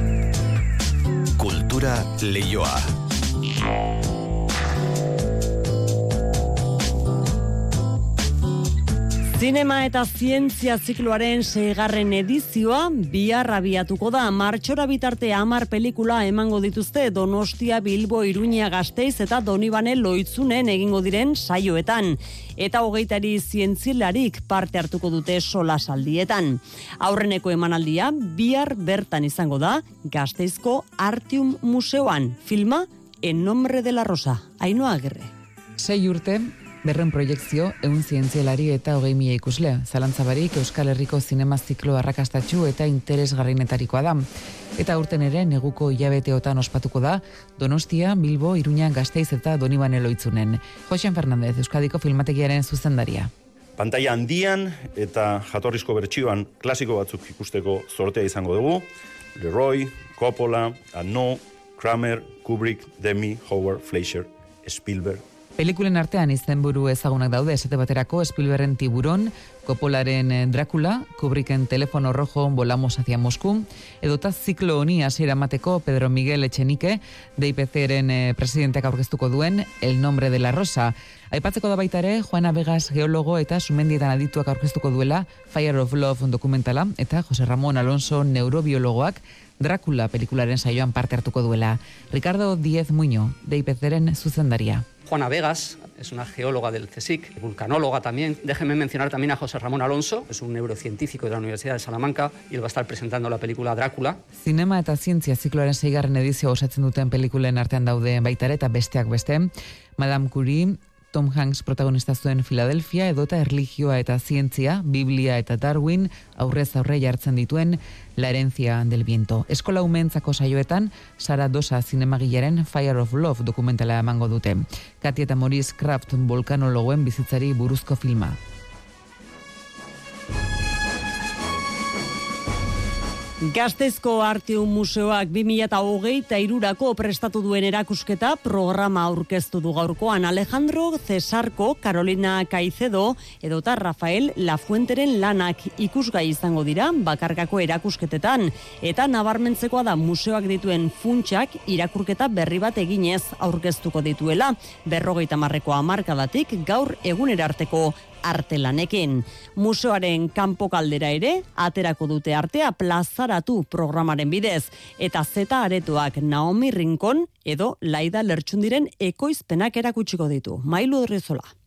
Kultura leioa. Zinema eta zientzia zikloaren seigarren edizioa bihar abiatuko da. Martxora bitarte hamar pelikula emango dituzte Donostia, Bilbo, Iruña, Gasteiz eta Donibane Loitzunen egingo diren saioetan. Eta hogeitari zientzilarik parte hartuko dute solasaldietan. Aurreneko emanaldia bihar bertan izango da Gasteizko Artium Museoan. Filma En nombre de la Rosa. Ainhoa Agirre. Sei urte, berren proiektzio, eun zientzialari eta hogei mila ikusle. Zalantzabarik Euskal Herriko zinema ziklo arrakastatxu eta interesgarrinetarikoa da. Eta urten ere, neguko hilabeteotan ospatuko da, Donostia, Bilbo, Iruña, Gasteiz eta Donibane Loitzunen. Joxen Fernandez, Euskadiko filmategiaren zuzendaria. Pantaila handian eta jatorrizko bertsioan klasiko batzuk ikusteko zortea izango dugu. Leroy, Coppola, Arnaud, Kramer, Kubrick, Demi, Howard, Fleischer, Spielberg. Pelikulen artean izenburu ezagunak daude, esate baterako Spielbergen Tiburon, Coppolaren Dracula, Kubricken Telefono Rojo, Volamos hacia Moscú, edota ziklo honi hasiera emateko Pedro Miguel Echenique, D I P C-ren presidenteak aurkeztuko duen El nombre de la Rosa. Aipatzeko da baita ere, Juana Vegas geologo eta sumendietan adituak aurkeztuko duela Fire of Love dokumentala, eta Jose Ramón Alonso neurobiologoak Dracula pelikularen saioan parte hartuko duela. Ricardo Díez Muño, D I P C-ren zuzendaria. Juana Vegas es una geóloga del CSIC, vulcanóloga también. Déjenme mencionar también a José Ramón Alonso, es un neurocientífico de la Universidad de Salamanca y él va a estar presentando la película Drácula. Zinema eta zientzia zikloaren seigarren edizio osatzen duten pelikulen artean daude baita ere eta besteak beste. Madame Curie, Tom Hanks protagonista zuen Philadelphia, edota erlijioa eta zientzia, Biblia eta Darwin, aurrez aurre jartzen dituen La herencia del viento. Eskola umeentzako saioetan, Sara Dosa zinemagilaren Fire of Love dokumentala emango dute. Katia eta Maurice Kraft volkanologoen bizitzari buruzko filma. Gasteizko Artium Museoak bi mila hogeita hirurako prestatu duen erakusketa programa aurkeztu du gaurkoan. Alejandro Cesarko, Carolina Caicedo edota Rafael Lafuenteren lanak ikusgai izango dira bakarkako erakusketetan. Eta nabarmentzekoa da museoak dituen funtsak irakurketa berri bat eginez aurkeztuko dituela. Berrogeita hamarreko hamarkadatik gaur egunerarteko artelanekin. Museoaren kanpo kaldera ere, aterako dute artea plazaratu programaren bidez, eta zeta aretoak Naomi Rincon edo Laida Lertxundiren ekoizpenak erakutsiko ditu. Mailu Horrizola.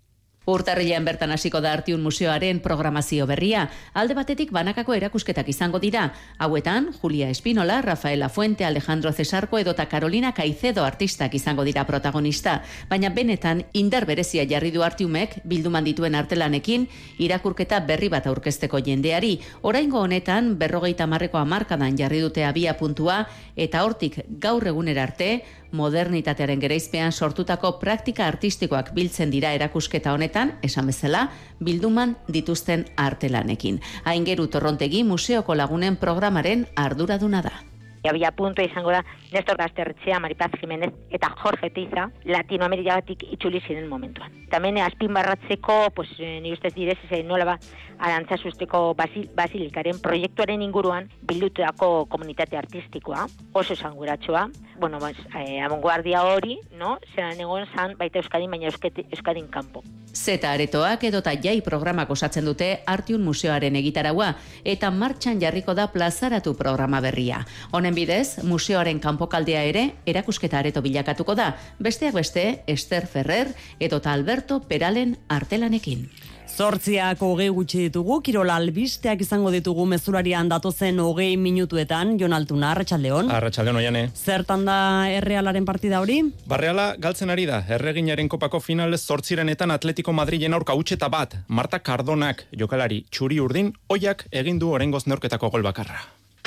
Urtarrilean bertan hasiko da Artium Museoaren programazio berria. Alde batetik banakako erakusketak izango dira. Hauetan, Julia Espinola, Rafaela Fuente, Alejandro Cesarko edota Carolina Caicedo artistak izango dira protagonista. Baina benetan, indar berezia jarri du Artiumek, bilduman dituen artelanekin, irakurketa berri bat aurkezteko jendeari. Oraingo honetan, berrogeita marreko hamarkadan jarri dute abia puntua, eta hortik gaur egunera arte, modernitatearen gereizpean sortutako praktika artistikoak biltzen dira erakusketa honetan, esan bezala, bilduman dituzten artelanekin. Aingeru Torrontegi museoko lagunen programaren arduraduna da. Abia puntua izango da Nestor Gazterretxea, Maripaz Jimenez eta Jorge Teiza Latinoamerikatik itzuli ziren momentuan. Tamen azpimarratzeko, pues, ni ustez direz, nola ba, Arantzazusteko basil, basilikaren proiektuaren inguruan bildutako komunitate artistikoa, oso esanguratsua. Bueno, pues, eh, abanguardia hori, no? Zeran egon zan baita Euskadin, baina Euskadin kanpo. Zeta aretoak edota jai programak osatzen dute Artium Museoaren egitaraua eta martxan jarriko da plazaratu programa berria. Honen bidez, museoaren kanpokaldea ere erakusketa areto bilakatuko da, besteak beste Esther Ferrer edota Alberto Peralen artelanekin. Zortziak hogei gutxi ditugu, Kirola albisteak izango ditugu mezularian datozen hogei minutuetan, Jon Altuna, Arratsaldeon. Arratsaldeon, Oiane. Zertan da Errealaren partida hori? Barreala galtzen ari da, Erreginaren kopako final zortzirenetan Atletico Madrilen aurka hutseta bat, Marta Cardonak jokalari txuri urdin, oiak egin du oraingoz neurketako gol bakarra.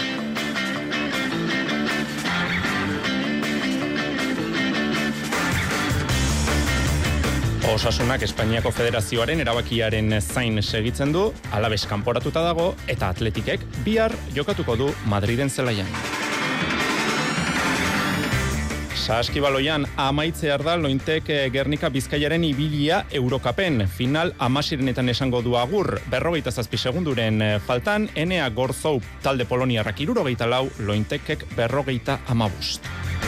Osasunak Espainiako Federazioaren erabakiaren zain segitzen du, Alabes kanporatuta dago eta Atletikek bihar jokatuko du Madriden zelaian. Saskibaloian amaitzear da Lointek Gernika Bizkaiaren ibilia Eurokapen. Final amasirenetan esango du agur, berrogeita zazpi segunduren faltan, Enea Gorzou talde poloniarrak hirurogeita lau, Lointekek berrogeita amabust.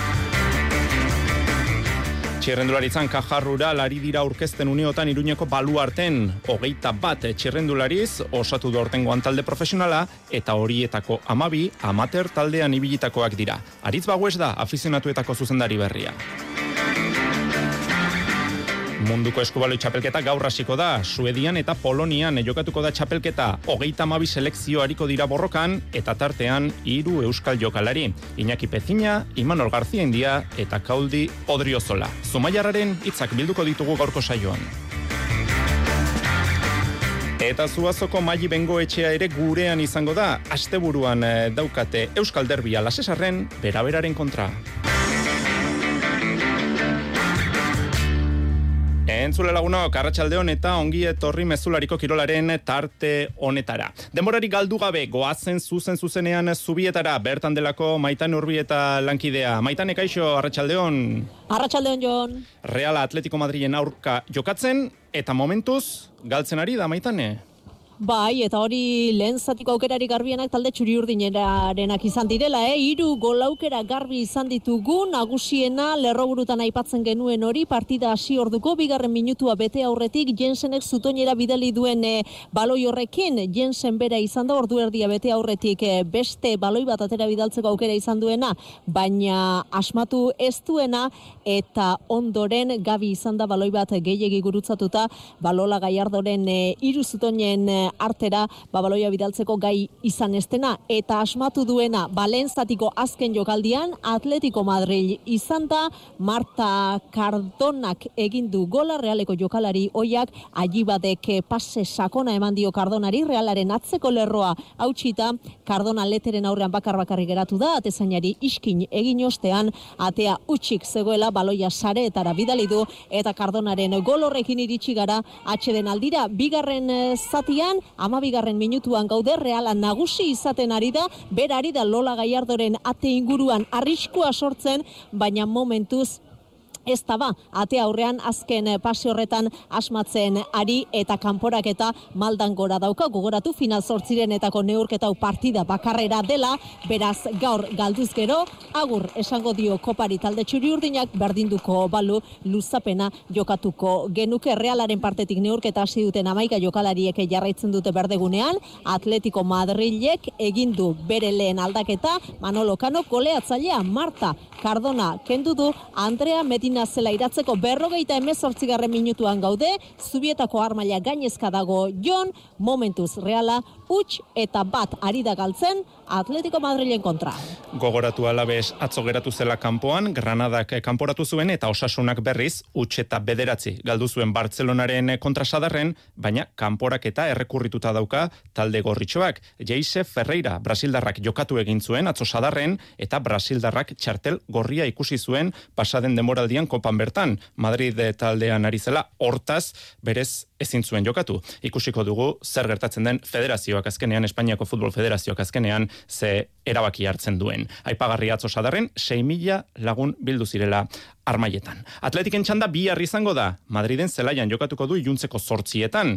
Txirrendularitzan Kajarrura lari dira aurkezten uneotan Iruñeko baluarten, hogeita bat txirrendulariz osatu da ortengoan talde profesionala eta horietako amabi amateur taldean ibilitakoak dira. Aritz Bagues da afizionatuetako zuzendari berria. Munduko eskubaloi txapelketa gaur hasiko da, Suedian eta Polonian jokatuko da txapelketa, hogeita amabi selekzio hariko dira borrokan, eta tartean hiru euskal jokalari, Iñaki Pezina, Imanol García India eta Kauldi Odriozola. Zumaiarraren hitzak bilduko ditugu gaurko saioan. Eta Zuazoko Maili Bengoetxea ere gurean izango da, asteburuan daukate Euskal Derbia Lasesarren beraberaren kontra. Entzule lagunok, Arratsaldeon eta ongi etorri mezulariko kirolaren tarte honetara. Denborari galdu gabe goazen zuzen zuzenean Zubietara, bertan delako Maitane Urbi eta lankidea. Maitane, kaixo, Arratsaldeon. Arratsaldeon, Jon. Reala Atletico Madrilen aurka jokatzen eta momentuz galtzen ari da, Maitane. Bai, eta hori lehen zatiko aukerari garbienak talde txuri-urdinerarenak izan direla, eh? Hiru gol aukera garbi izan ditugu, nagusiena lerroburutan aipatzen genuen hori, partida hasi orduko, bigarren minutua bete aurretik, Jensenek zutoinera bidali duen eh, baloi horrekin, Jensen bera izan da, ordu erdia bete aurretik eh, beste baloi bat atera bidaltzeko aukera izan duena, baina asmatu ez duena, eta ondoren gabi izan da baloi bat gehiegi gurutzatuta, Balola Gallardoren eh, hiru zutoinen eh, artera babaloia bidaltzeko gai izan estena eta asmatu duena Balentzatiko azken jokaldian Atletico Madrid izan da, Marta Cardonak egin du gola, Realeko jokalari oiak Allibadek pase sakona eman dio Cardonari, Realaren atzeko lerroa hautsita, Cardona leteren aurrean bakar bakarrik geratu da, atezainari iskin egin ostean, atea utxik zegoela, baloia sareetara bidali du eta Cardonaren gol horrekin iritsi gara atxeden aldira, bigarren zatian amabigarren minutuan gaude, Reala nagusi izaten ari da, bera ari da Lola Gallardoren ate inguruan arriskua sortzen, baina momentuz ez da ba, ate aurrean azken pase horretan asmatzen ari eta kanporaketa maldan gora dauka, gogoratu final zortzirenetako neurketau partida bakarrera dela, beraz gaur galduz gero, agur esango dio kopari talde txuri-urdinak, berdinduko balu luzapena jokatuko genuke. Realaren partetik neurketa hasi duten hamaika jokalariek jarraitzen dute berdegunean, Atletico Madrilek egin du bere lehen aldaketa, Manolo Cano goleatzailea Marta Cardona kendu du Andrea Medina zela iratzeko berrogeita hemezortzigarren minutuan gaude, Zubietako armaila gainezka dago Jon, momentuz Reala huts eta bat ari da galtzen Atletico Madrilen kontra. Gogoratu Alabes atzo geratu zela kanpoan, Granadak kanporatu zuen eta Osasunak berriz huts eta bederatzi galdu zuen Bartzelonaren kontra Sadarren, baina kanporak eta errekurrituta dauka talde gorritxoak. Jeise Ferreira Brasildarrak jokatu egin zuen atzo Sadarren eta Brasildarrak txartel gorria ikusi zuen pasaden denboraldian kopan bertan. Madrid taldean ari zela, hortaz berez ezin zuen jokatu. Ikusiko dugu zer gertatzen den federazioak azkenean, Espainiako Futbol Federazioak azkenean ze erabaki hartzen duen. Aipagarri atzo Sadarren sei mila lagun bildu zirela armaietan. Atletiken txanda bihar izango da. Madriden zelaian jokatuko du iluntzeko zortzietan.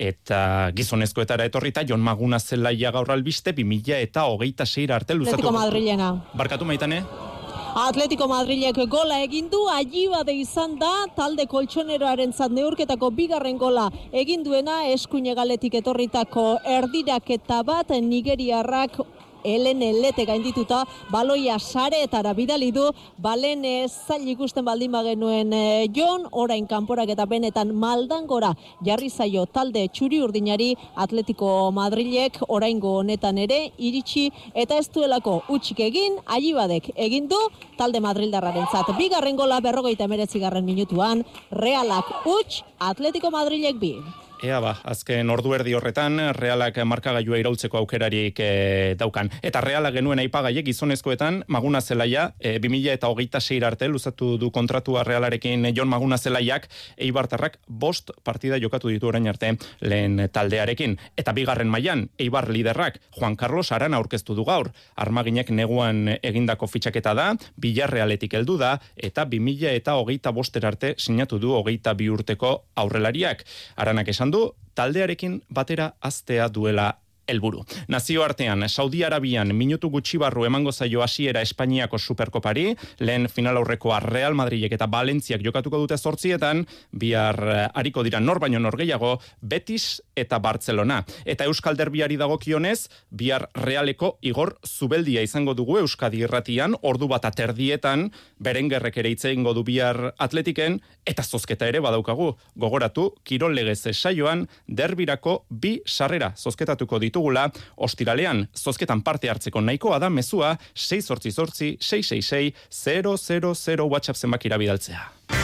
Eta gizonezkoetara etorrita Jon Maguna zelaia gaur albiste bi mila eta hogeita seira arte luzatu. Atletico Madrilena. Barkatu Maitane? Atletico Madrilek gola egin du, Allibade izan da, talde koltsoneroarentzat neurketako bigarren gola egin duena, eskuine galetik etorritako erdiraketa bat, nigeriarrak Elen Elete gaindituta, baloia sareetara bidali du, balen zail ikusten baldin bagenuen e, Jon, orain kanporak eta benetan maldangora jarri zaio talde txuri urdinari Atletico Madrilek oraingo honetan ere iritsi eta ez duelako utxik egin, Allibadek egin du talde Madrildarrarentzat. Bigarren gola berrogeita hemeretzigarren minutuan, Realak huts, Atletico Madrilek bi. Ea ba, azken ordu erdi horretan Realak markagailua iraultzeko aukerarik e, daukan. Eta Reala genuen aipagaiek gizonezkoetan Maguna Zelaia e, bi mila eta hogeita sei arte luzatu du kontratua Realarekin Jon Maguna Zelaiak, Eibartarrak bost partida jokatu ditu orain arte lehen taldearekin. Eta bigarren mailan Eibar liderrak Juan Carlos Arana aurkeztu du gaur. Armaginek neguan egindako fitxaketa da, Villarrealetik heldu da, eta bi mila eta hogeita boster arte sinatu du hogeita bi urteko aurrelariak. Aranak esan du taldearekin batera aztea duela helburu. Nazioartean, Saudi Arabian minutu gutxi barru emango zaio hasiera Espainiako Superkopari, lehen final aurrekoa Real Madridek eta Valentziak jokatuko dute zortzietan, bihar ariko dira nor baino nor gehiago, Betis eta Barcelona. Eta Euskal Derbiari dagokionez, bihar Realeko Igor Zubeldia izango dugu Euskadi Irratian, ordu bat aterdietan, Berengerrek ere hitz egingo du bihar Atletiken, eta zozketa ere badaukagu. Gogoratu, Kirol Legez saioan, derbirako bi sarrera zozketatuko ditu gula, ostiralean, zozketan parte hartzeko nahikoa da mezua sei zortzi zortzi sei sei sei zero zero zero WhatsApp zenbakira bidaltzea.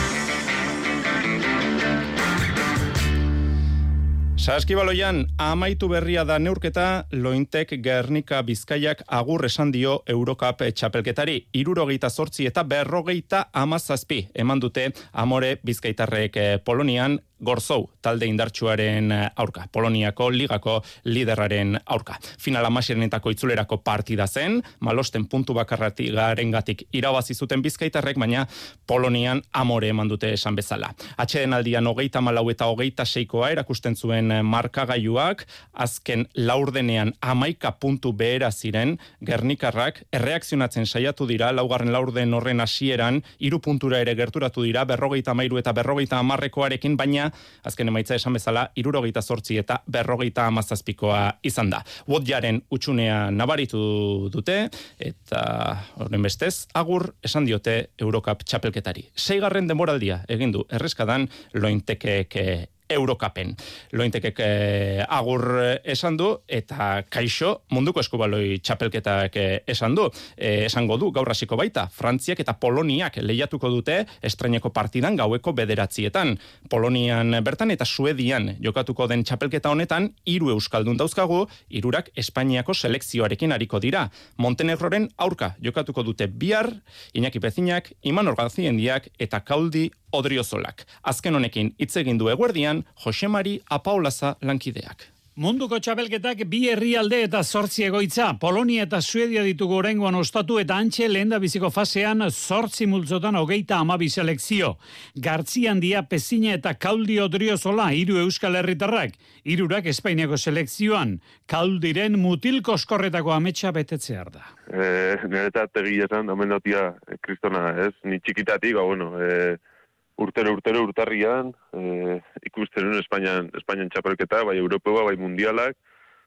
Saskibaloian, amaitu berria da neurketa, Lointek Gernika Bizkaiak agur esan dio Eurocup txapelketari. Hirurogeita zortzi eta berrogeita hamazazpi eman dute Amore Bizkaitarrek Polonian, Gorzou, talde indartsuaren aurka, Poloniako ligako liderraren aurka. Final amaserenetako itzulerako partida zen, malosten puntu bakarrati garengatik irabazi zuten Bizkaitarrek, baina Polonian Amore eman dute esan bezala. Atxeden aldian hogeita malau eta hogeita seikoa erakusten zuen markagailuak, azken laurdenean hamaika puntu behera ziren, Gernikarrak erreakzionatzen saiatu dira, laugarren laurden horren hasieran, hiru puntura ere gerturatu dira, berrogeita hamairu eta berrogeita hamarrekoarekin, baina azken emaitza esan bezala, hirurogeita zortzi eta berrogeita hamazazpikoa izan da. Wodjaren utxunea nabaritu dute, eta horren bestez, agur esan diote Eurocup txapelketari. Seigarren denboraldia egin du erreskadan Lointekek Eurocupen. Lointekek eh, agur esan du, eta kaixo munduko eskubaloi txapelketak eh, esan du. Eh, esango du, gaur hasiko baita, Frantziak eta Poloniak lehiatuko dute estreineko partidan gaueko bederatzietan. Polonian bertan eta Suedian jokatuko den txapelketa honetan, hiru euskaldun dauzkagu, hirurak Espainiako selekzioarekin ariko dira. Montenegroren aurka jokatuko dute bihar, Iñaki Pezinak, Imanol Garziendiak eta Kauldi Odriozolak. Azken honekin hitz egin du eguerdian Jose Mari Apaolaza lankideak. Munduko txapelketak bi herrialde eta zortzi egoitza. Polonia eta Suedia ditugu oraingoan ostatu eta antxe lehenda biziko fasean zortzi multzotan hogeita hamabi selekzio. Gartziandia, Pezina eta Kauldi Odriozola hiru euskal herritarrak. Hirurak Espainiako selekzioan. Kauldiren mutil koskorretako ametsa betetzear da. Eh, Niretat egia esan, omen notia kristona, ez? Ni txikitatik, ba, bueno, eh, urtero, urtero, urtarrian, eh, ikusten nuen Espainian, Espainian txapelketa, bai Europeoa, bai mundialak,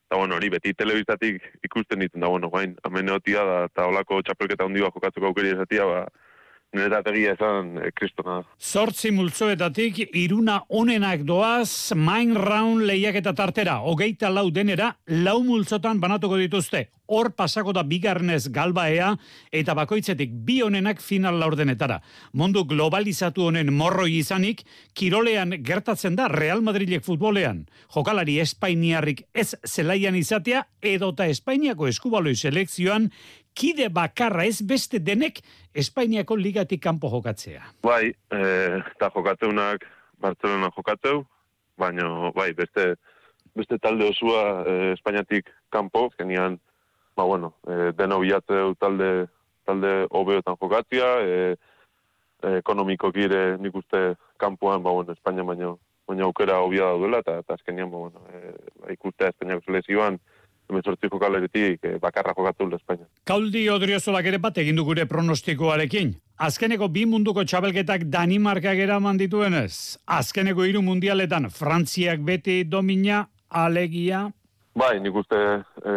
eta bueno, hori beti telebistatik ikusten ditzen da, bueno, bain, ameneotia da, eta holako txapelketa handi bat jokatzeko aukeri esatia, ba, nire egia esan e, kristona. Zortzi multzoetatik iruna onenak doaz main round lehiaketa tartera, hogeita lau denera, lau multzotan banatuko dituzte. Hor pasako da bigarrenez galbaea eta bakoitzetik bi onenak final laurdenetara. Mundu globalizatu honen morroi izanik, kirolean gertatzen da Real Madrilek futbolean. Jokalari espainiarrik ez zelaian izatea edota Espainiako eskubaloi selekzioan kide bakarra ez beste denek Espainiako ligatik kanpo jokatzea. Bai, e, eta jokatzeunak Barcelona jokatzeu, baina bai, beste, beste talde osua e, Espainiatik kanpo, genian, ba bueno, e, deno bilatzeu talde, talde hobeotan jokatzea, e, e, ekonomiko gire nik uste kanpoan, ba bueno, Espainia baino, baina aukera hobia daudela, eta, eta azkenian, ba bueno, e, ba, ikustea Espainiako selekzioan, hemezortzi jokalaritik e, bakarra jokatu Espainia. Kauldi Odriozolak ere bat egin du gure pronostikoarekin. Azkeneko bi munduko txabelketak Danimarkak eraman dituenez. Azkeneko hiru mundialetan Frantziak beti domina, alegia. Bai, nik uste e,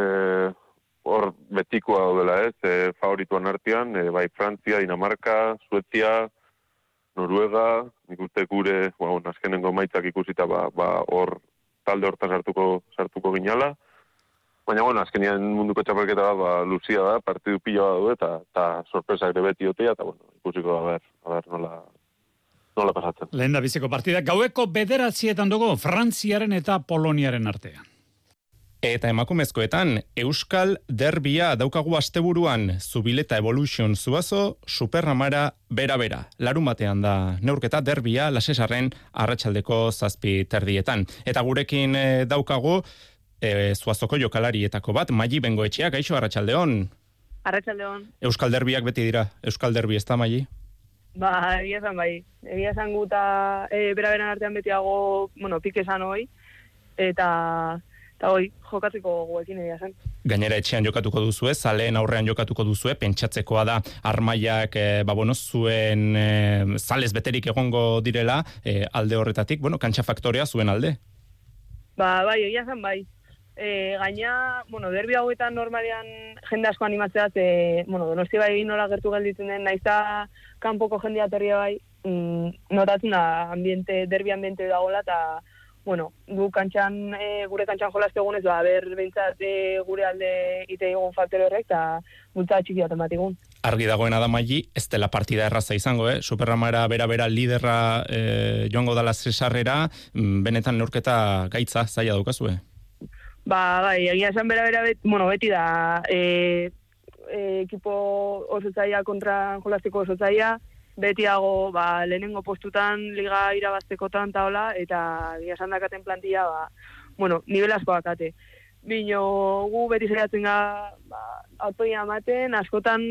hor betikoa daudela ez, e, favorituan artean, e, bai Frantzia, Dinamarka, Suetzia, Noruega, nik uste gure, bueno, azkenengo maitzak ikusita ba, ba hor talde hortan sartuko, sartuko ginala. Baina, bueno, azkenian munduko txapelketa da, ba, luzia da, partidu pila da eta, eta sorpresak ere beti otea, eta, bueno, ikusiko da, ber, a ber, nola, nola pasatzen. Lehen da biziko partida, gaueko bederatzietan dugu, Frantziaren eta Poloniaren artean. Eta emakumezkoetan, Euskal Derbia daukagu asteburuan, Zubileta Evolution Zuazo, Superramara bera-bera. Larun batean da neurketa Derbia, Lasesarren arratsaldeko zazpi terdietan. Eta gurekin e, daukagu, e, Zuazoko jokalarietako bat, Maili Bengoetxea, gaixo arratsaldeon. Arratsaldeon. Euskal Derbiak beti dira, Euskal Derbi ez da, Maili? Ba, egia esan bai. Egia esan guta e, bera-beran artean betiago, bueno, pike esan hoi, eta... Eta hoi, jokatzeko guekin egia zen. Gainera etxean jokatuko duzue, zaleen aurrean jokatuko duzue, pentsatzekoa da armailak, e, ba, bueno, zuen e, zalez beterik egongo direla, e, alde horretatik, bueno, kantxa faktorea zuen alde. Ba, bai, egia zen bai. E, gaina, bueno, derbi hauetan normalean jende asko animatzea, ze, bueno, Donosti bai nola gertu gelditzen den, naizta kanpoko jendea torria bai, mm, notatzen da ambiente, derbi ambiente dagoela, eta bueno, gu kantxan, e, gure kantxan jolazte egunez, ba, ber, behintzat e, gure alde ite egun faktore horrek, eta bultza txiki bat ematik egun. Argi dagoena da, Maili, ez dela partida erraza izango, eh? Superramara bera-bera liderra e, joango dala zesarrera, benetan neurketa gaitza zaila daukazue? Ba, bai, egia esan bera-bera, bet, bueno, beti da, e, e, ekipo oso zaila kontra jolazteko oso zaila, betiago, ba, lehenengo postutan, liga irabaztekotan taola, eta gira esan dakaten plantilla, ba, bueno, nivel asko dakate. Bino, gu beti zaiatzen ga, ba, autoia ematen, askotan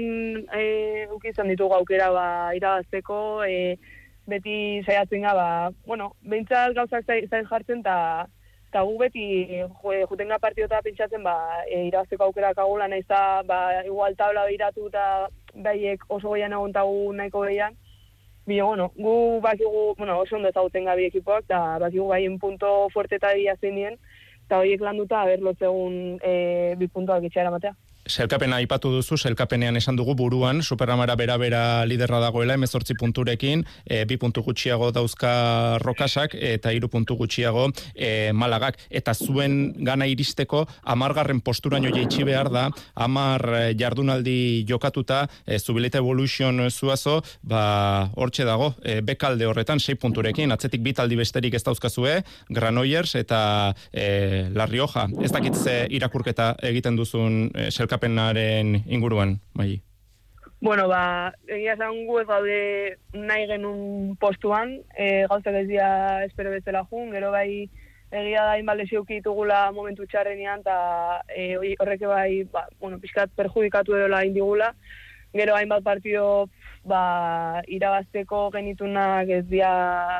e, ukizan ditugu aukera, ba, irabazteko, e, beti zaiatzen ga, ba, bueno, behintzat gauzak zain jartzen, eta eta gu beti jutenga partiota pentsatzen, ba, e, irabazteko aukera kagula, nahiz da, ba, igual tabla behiratu eta baiek oso goian egontagu nahiko behian. Bino, bueno, gu bakigu, bueno, oso ondo ezagutzen gabi ekipoak, eta bakigu baien punto fuerte eta bia zein dien, eta horiek landuta, haber, lotzegun e, bi puntoak itxera matea. Selkapena aipatu duzu, selkapenean esan dugu buruan, Superramara bera-bera liderra dagoela, hemezortzi punturekin, e, bi puntu gutxiago dauzka Rokasak, eta hiru puntu gutxiago e, Malagak. Eta zuen gana iristeko, amargarren posturaino jaitsi behar da, amar jardunaldi jokatuta, e, Zubileta Evolution Zuazo, ba, hortxe dago, e, bekalde horretan, sei punturekin, atzetik bitaldi besterik ez dauzkazue, Granollers eta e, La Rioja. Ez dakitze irakurketa egiten duzun e, selkapenaren inguruan, Maili? Bueno, ba, egia esan gu ez gaude nahi genuen postuan, e, gauzak ez dira espero bezala jun, gero bai egia da inbat lesioki ditugula momentu txarrenean, eta e, horreke bai, ba, bueno, pixkat perjudikatu erola indigula, gero hainbat partido ba, irabazteko genitunak ez dira,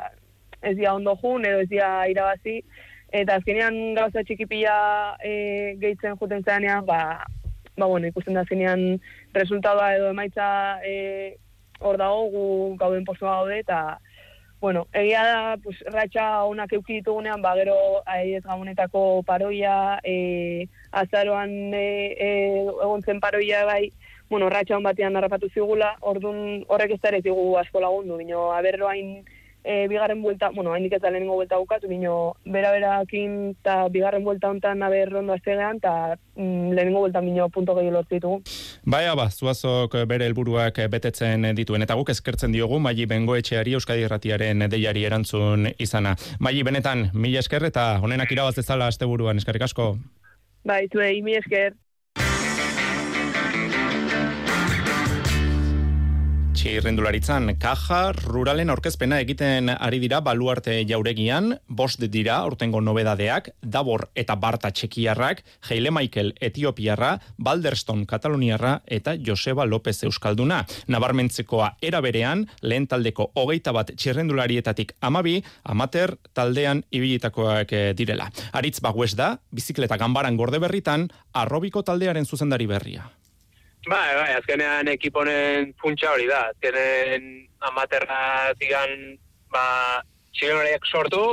ez dira ondo jun, edo ez dira irabazi, eta azkenean gauza txikipila e, gehitzen juten zeanean, ba, ba, bueno, ikusten da zenean resultadoa edo emaitza e, hor dago, gu gauden postua gaude, eta bueno, egia da, pues, ratxa onak euki ditugunean, ba, gero, ez gabonetako paroia, e, azaroan e, e, egon zen paroia bai, bueno, ratxa hon batean harrapatu zigula, orduan horrek ez da ere zigu asko lagundu, bino, aberro hain e, bigarren buelta, bueno, hain diketa lehenengo buelta bukatu, bino, bera-berakin eta bigarren buelta hontan aber rondo aztegean, eta mm, lehenengo buelta bino punto gehi lortu ditugu. Baina ba, Zuazok bere helburuak betetzen dituen, eta guk eskertzen diogu Maili Bengoetxeari Euskadi Irratiaren deiari erantzun izana. Maili, benetan, mila esker eta honenak irabaz dezala asteburuan, eskerrik asko. Bai, zuei, mila esker. Txirrindularitzan, Kaja Ruralen aurkezpena egiten ari dira Baluarte jauregian, bost dira aurtengo nobedadeak, Davor eta Barta txekiarrak, Heile Michael etiopiarra, Balderston kataluniarra eta Joseba López euskalduna. Nabarmentzekoa era berean, lehen taldeko hogeita bat txirrindularietatik amabi, amater taldean ibilitakoak direla. Aritz Bagues da, bizikleta ganbaran gorde berritan, arrobiko taldearen zuzendari berria. Bai, bai, azkenean ekiponen puntxa hori da. Azkenen amaterra zigan, ba, txirrindulariak sortu,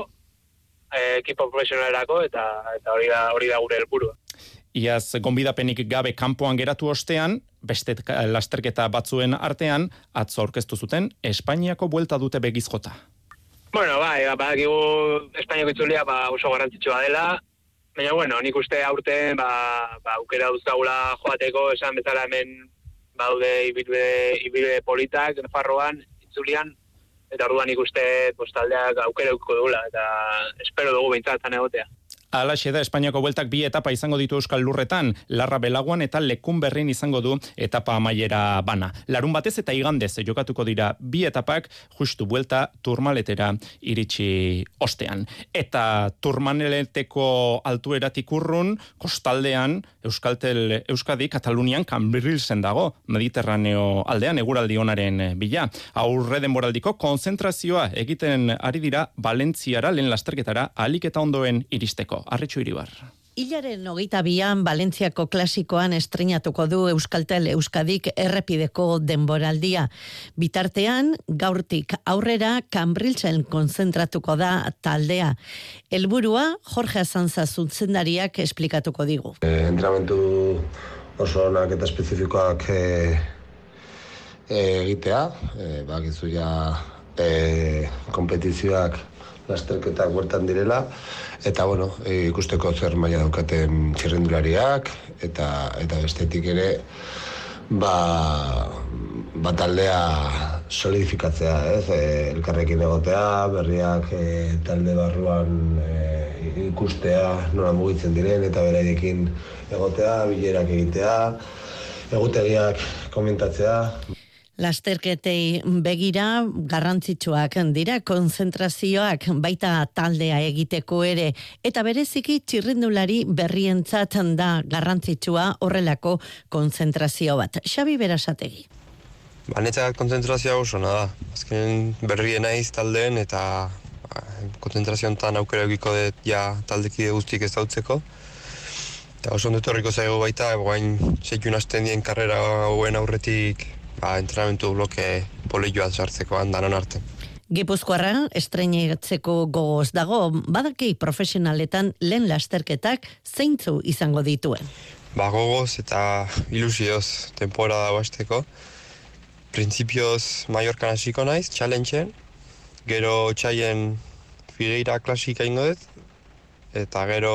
eh, ekipo profesionalerako, eta, eta hori da, hori da gure helburua. Iaz, gonbidapenik gabe kanpoan geratu ostean, beste lasterketa batzuen artean, atzo aurkeztu zuten Espainiako buelta dute begizjota. Bueno, bai, badakigu Espainiako itzulia ba, oso garrantzitsua dela, baina, bueno, nik uste aurten, ba, ba, aukera duzkagula joateko, esan bezala hemen baude ibilbide, ibilbide politak, Nafarroan, itzulian, eta orduan nik uste postaldeak aukera eukiko dugula, eta espero dugu behintzatan egotea. Alaxe da, Espainiako bueltak bi etapa izango ditu Euskal Lurretan, Larra Belaguan eta Lekun Berrin izango du etapa amaiera bana. Larun batez eta igandez jokatuko dira bi etapak, justu buelta Turmaletera iritsi ostean. Eta Turmaleteko altueratik urrun, kostaldean, Euskaltel Euskadi, Katalunian, Cambrilsen dago, Mediterraneo aldean, eguraldi onaren bila. Aurre denboraldiko konzentrazioa egiten ari dira Valentziara, lehen lasterketara, ahalik eta ondoen iristeko. Arretxu Iribar. Hilaren hogeita bian Valentziako klasikoan estreinatuko du Euskaltel Euskadik errepideko denboraldia. Bitartean, gaurtik aurrera Cambrilsen konzentratuko da taldea. Helburua Jorge Azanza zuzendariak esplikatuko digu. Eh, entrenamentu oso onak eta espezifikoak eh, eh, egitea, eh, bakizu ja eh, kompetizioak lasterketak huertan direla, eta bueno, ikusteko zer maila daukaten txirrindulariak, eta eta bestetik ere, ba, ba taldea solidifikatzea, ez? E, elkarrekin egotea, berriak e, talde barruan e, ikustea, nola mugitzen diren, eta beraiekin egotea, bilerak egitea, egutegiak komentatzea. Lasterketei begira garrantzitsuak dira konzentrazioak baita taldea egiteko ere, eta bereziki txirrindulari berrientzat da garrantzitsua horrelako konzentrazio bat. Xabi Berasategi. Ba, netzat konzentrazioa oso da. Azken berrien naiz taldeen eta konzentrazio honetan aukera egiko dut ja taldekide guztik ez dautzeko. Eta oso ondut horriko zaigu baita, guain seikun hasten dien karrera hauen aurretik ba, entrenamentu bloke polioa sartzeko handanon arte. Gipuzkoarra estreinatzeko gogoz dago, badaki profesionaletan lehen lasterketak zeintzu izango dituen. Ba, gogoz eta ilusioz temporada basteko. Printzipioz Mallorcan hasiko naiz, challengeen, gero txaien Figueira klasika ingo dut, eta gero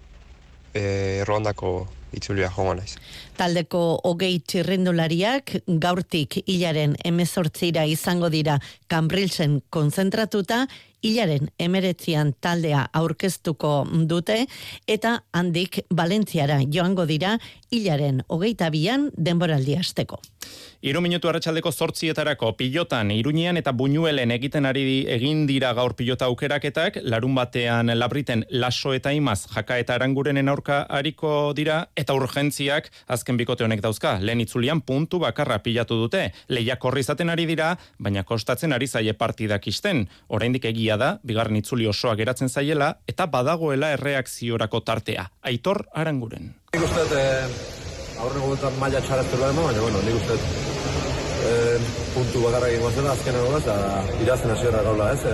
e, Ruandako itzulia joango naiz. Taldeko hogei txirrindulariak gaurtik hilaren hemezortzira izango dira Cambrilsen konzentratuta, hilaren emeretzian taldea aurkeztuko dute, eta handik Valentziara joango dira hilaren hogeita bian denboraldi hasteko. Hiru minutu arratsaldeko zortzietarako pilotan, Iruñean eta Buñuelen egiten ari egin dira gaur pilota aukeraketak, larun batean Labriten Laso eta Imaz Jaka eta Arangurenen aurka ariko dira, eta urgentziak azken bikote honek dauzka. Lehen itzulian puntu bakarra pilatu dute, lehiak horri izaten ari dira, baina kostatzen ari zaie partidak isten. Oraindik egia da, bigarren itzuli osoa geratzen zaiela, eta badagoela erreakziorako tartea. Aitor Aranguren. Nik uste, eh, aurreko guetan maila txaraztu behar, baina, bueno, nik uste, eh, zen puntu bakarra egingo zela, azken egoaz, eta irazten hasiera gaula, ez?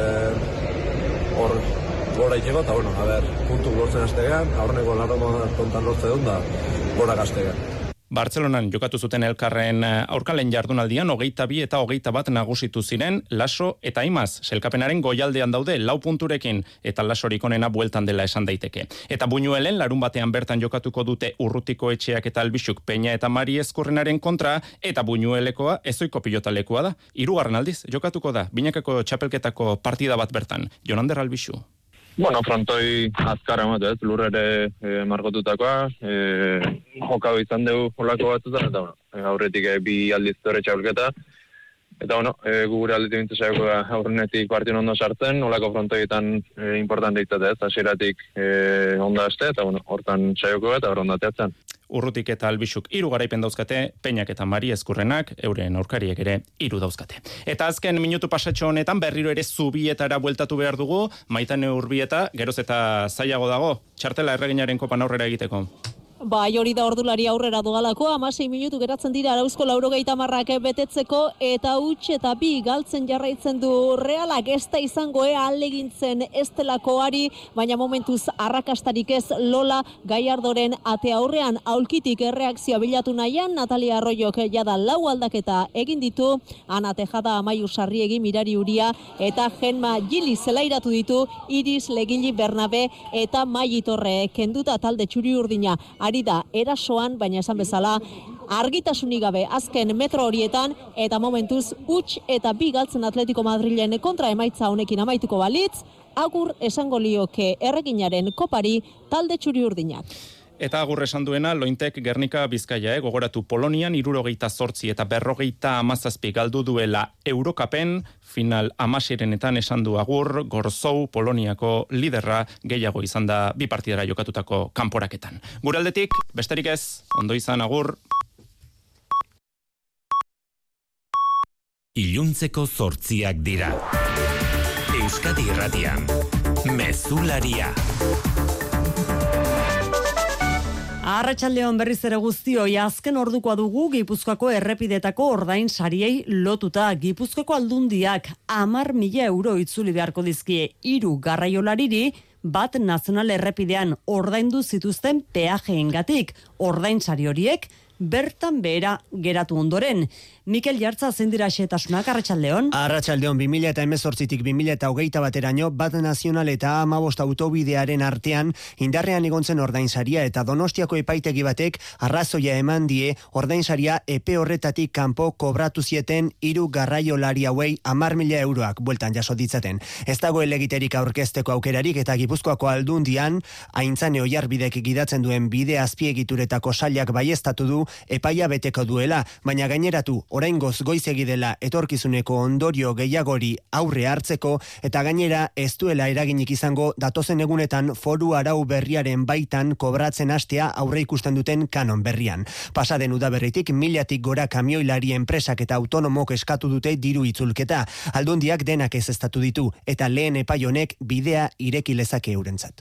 E, hor, gora itxeko, eta bueno, a ber, puntu lortzen hastegean, aurreneko larro kontan lortze dut, da gora gaztegean. Bartzelonan jokatu zuten elkarren aurkalen jardunaldian hogeita bi eta hogeita bat nagusitu ziren Laso eta Imaz. Selkapenaren goialdean daude lau punturekin eta Lasorik onena bueltan dela esan daiteke. Eta Buñuelen larun batean bertan jokatuko dute Urrutiko Etxeak eta Albixuk Peña eta Mari Ezkurrenaren kontra eta Buñuelekoa ezoiko pilotalekua da. Hirugarren aldiz jokatuko da binakako txapelketako partida bat bertan. Jonander Albixu. Bueno, frontoi azkar emate, ez, lurrere e, margotutakoa, e, jokau izan dugu holako batzutan, eta bueno, aurretik e, bi aldiz dore txaulketa, eta bueno, e, gure aldetik bintu saioko da aurrenetik partion ondo sartzen, holako frontoietan e, importante izatea, ez, hasieratik e, onda haste, eta bueno, hortan saioko eta horren dateatzen. Urrutik eta Albixuk hiru garaipen dauzkate, Peñak eta Mari Ezkurrenak, euren aurkariek ere hiru dauzkate. Eta azken minutu pasatxo honetan berriro ere Zubietara bueltatu behar dugu, Maitane Urbieta, geroz eta zailago dago, txartela erreginaren kopan aurrera egiteko. Bai, hori da ordulari aurrera dogalako, amasei minutu geratzen dira Arauzko laurogeita marrak betetzeko, eta huts eta bi galtzen jarraitzen du Realak, ez da izango ea alegintzen ez delakoari, baina momentuz arrakastarik ez Lola Gallardoren ate aurrean, aulkitik erreakzioa bilatu nahian, Natalia Arroyok jada lau aldaketa egin ditu, Ana Tejada, Amaiur Sarriegi, Mirari Uria, eta Genma Gili zelairatu ditu, Iris Legili Bernabe, eta Mai Torre, kenduta talde txuri urdina, ari da erasoan, baina esan bezala argitasunik gabe azken metro horietan, eta momentuz huts eta bi galtzen Atletico Madrilen kontra emaitza honekin amaituko balitz, agur esango lioke erreginaren kopari talde txuri urdinak. Eta agur esan duena, Lointek Gernika Bizkaia, eh? Gogoratu Polonian irurogeita zortzi eta berrogeita amazazpi galdu duela Eurokapen, final amasirenetan esan du agur, Gorzou Poloniako liderra gehiago izan da bi partidara jokatutako kanporaketan. Gure aldetik, besterik ez, ondo izan agur. Iluntzeko zortziak dira. Euskadi Irratian, Mezularia. Arratsaldeon berriz ere guztioi, azken ordukoa dugu Gipuzkoako errepidetako ordain sariei lotuta. Gipuzkoako aldundiak hamar mila euro itzuli beharko dizkie hiru garraiolariri bat nazional errepidean ordaindu zituzten peajeengatik. Ordain sari horiek bertan behera geratu ondoren. Mikel Jartza, zein dira xehetasunak, Arratsaldeon? Arratsaldeon, bi mila hemezortzitik bi mila hogeita bateraino, bat nazional eta hamabost autobidearen artean indarrean egontzen ordainsaria eta Donostiako epaitegi batek arrazoia eman die ordainsaria epe horretatik kanpo kobratu zieten hiru garraiolari hauei hamar mila euroak bueltan jaso ditzaten. Ez dago elegiterik aurkezteko aukerarik eta Gipuzkoako aldundian Aintzane Oiarbidek gidatzen duen bide azpiegituretako sailak baieztatu du epaia beteko duela, baina gaineratu oraingoz goizegi dela etorkizuneko ondorio gehiagori aurre hartzeko eta gainera ez duela eraginik izango datozen egunetan foru arau berriaren baitan kobratzen hastea aurre ikusten duten kanon berrian. Pasaden udaberritik milatik gora kamioilari enpresak eta autonomok eskatu dute diru itzulketa. Aldundiak denak ezeztatu ditu eta lehen epai honek bidea ireki lezake eurentzat.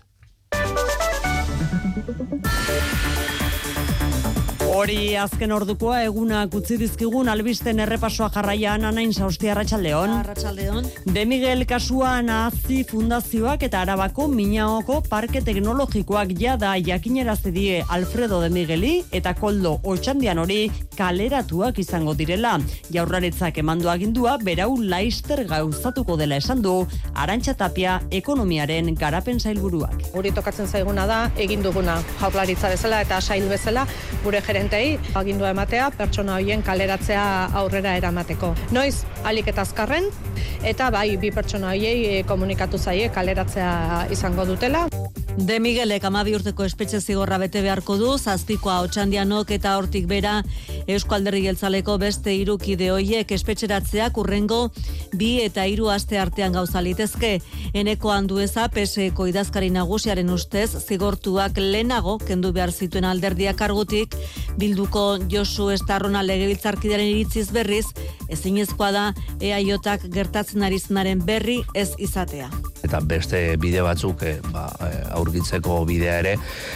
Hori azken ordukoa egunak utzi dizkigun albisten errepasoa jarraian Anain Sausti, Arratsaldeon. Arratsaldeon. De Miguel kasuan Azi Fundazioak eta Arabako Minaoko Parke Teknologikoak jada jakinerazi die Alfredo de Migueli eta Koldo Otxandian hori kaleratuak izango direla. Jaurlaritzak emandu agindua berau laister gauzatuko dela esan du Arantxa Tapia ekonomiaren garapen sailburuak. Guri tokatzen zaiguna da egin duguna Jaurlaritza bezala eta sail bezala gure gerentei agindua ematea pertsona hoien kaleratzea aurrera eramateko. Noiz alik eta azkarren eta bai bi pertsona hoiei komunikatu zaie kaleratzea izango dutela. De Miguelek hamabi urteko espetxe zigorra bete beharko du, Zazpikoa Otxandianok eta hortik bera Eusko Alderdi Jeltzaleko beste hiru kide hoiek espetxeratzeak urrengo bi eta hiru aste artean gauza litezke. Eneko Andueza P S Eko idazkari nagusiaren ustez zigortuak lehenago kendu behar zituen alderdia kargutik, Bilduko Josu Estarrona legebiltzarkideren iritziz berriz, ezinezkoa da E A Jak gertatzen ari zenaren berri ez izatea. eta beste bide batzuk e, ba, aurkitzeko bidea ere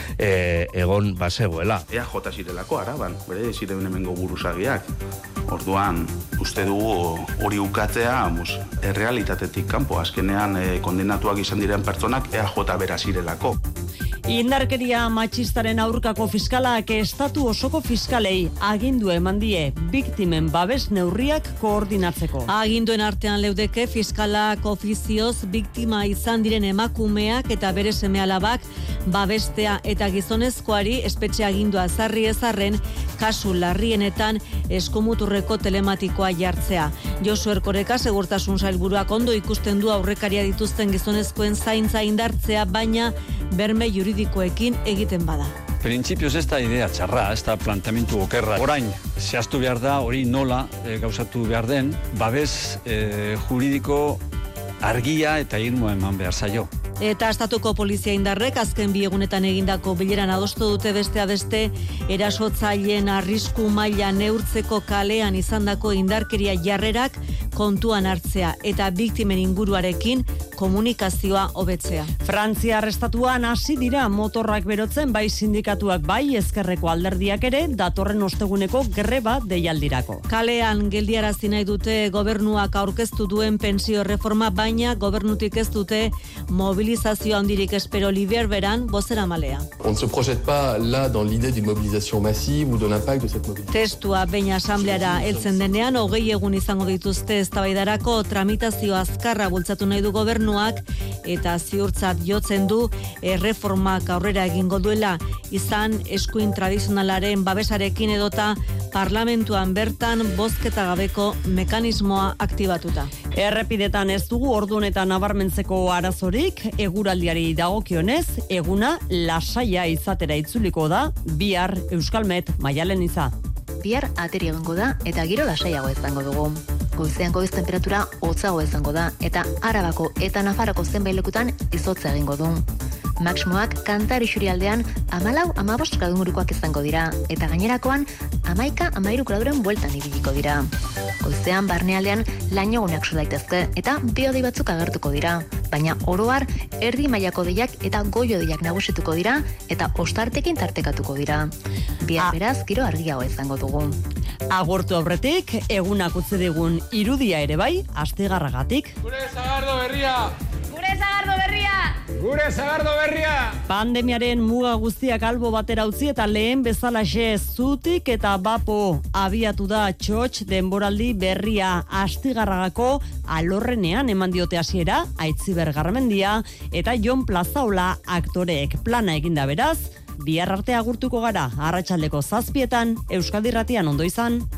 e, egon bazegoela. E A J zirelako Araban, bere ziren hemengo buruzagiak. Orduan, uste dugu hori ukatzea, mus, errealitatetik kanpo, azkenean e, kondenatuak izan diren pertsonak E A J bera zirelako. Indarkeria matxistaren aurkako fiskalak estatu osoko fiskalei agindu eman die biktimen babes neurriak koordinatzeko. Aginduen artean leudeke fiskalak ofizioz biktima izan diren emakumeak eta bere seme-alabak babestea eta gizonezkoari espetxe agindua ezarri ezarren kasu larrienetan eskomuturreko telematikoa jartzea. Josu Erkoreka segurtasun sailburuak ondo ikusten du aurrekaria dituzten gizonezkoen zaintza indartzea, baina berme juridikoekin egiten bada. Printzipioz ez da idea txarra, ez da planteamendu okerra. Orain, zehaztu behar da, hori nola e, gauzatu behar den, babes e, juridiko argia eta irmoa eman behar zaio. Eta estatuko polizia indarrek azken bi egunetan egindako bileran adostu dute beste beste erasotzaileen arrisku maila neurtzeko kalean izandako indarkeria jarrerak kontuan hartzea eta biktimen inguruarekin komunikazioa hobetzea. Frantzia arrestatuan hasi dira motorrak berotzen bai sindikatuak bai ezkerreko alderdiak ere datorren osteguneko greba deialdirako. Kalean geldiarazi nahi dute gobernuak aurkeztu duen pentsio reforma, baina gobernutik ez dute mobilizazio handirik espero. Liber Beran, bozeramalea. On ne se projette pas là dans l'idée d'une mobilisation massive ou de l'impact de cette mobilisation. Testua behin asambleara heltzen denean hogei egun izango dituzte eztabaidarako, tramitazio azkarra bultzatu nahi du gobernuak eta ziurtzat jotzen du erreformak aurrera egingo duela, izan eskuin tradizionalaren babesarekin edota parlamentuan bertan bozketa gabeko mekanismoa aktibatuta. Errepidetan ez dugu ordu honetan nabarmentzeko arazorik, eguraldiari dagokionez, eguna lasaia izatera itzuliko da, bihar Euskalmet Maialen Iza. Bihar ateri egongo da eta giro lasaiago izango dugu. Goizean goiz temperatura hotzago izango da eta Arabako eta Nafarroko zenbait lekutan izotza egingo du. Maximoak Kantari Xurialdean hamalau hamabost gradu ingurukoak izango dira eta gainerakoan hamaika hamairu graduren bueltan ibiliko dira. Goizean barnealdean lainoguneak so daitezke eta bi-hodei batzuk agertuko dira, baina oro har erdi mailako deiak eta goi-hodeiak nagusituko dira eta ostartekin tartekatuko dira. Bihar beraz giro argiago izango dugu. Agortu aurretik, egunak utzi digun irudia ere bai, astigarragatik. Gure Sagardo berria! Gure Sagardo berria! Gure Sagardo berria! Pandemiaren muga guztiak albo batera utzi eta lehen bezalaxe zutik eta bapo abiatu da txotx denboraldi berria. Astigarragako alorrenean eman diote hasiera Aitziber Garmendia eta Jon Plazaola aktoreek. Plana eginda beraz, bihar arte agurtuko gara, arratsaldeko zazpietan, Euskadi Irratian, ondo izan.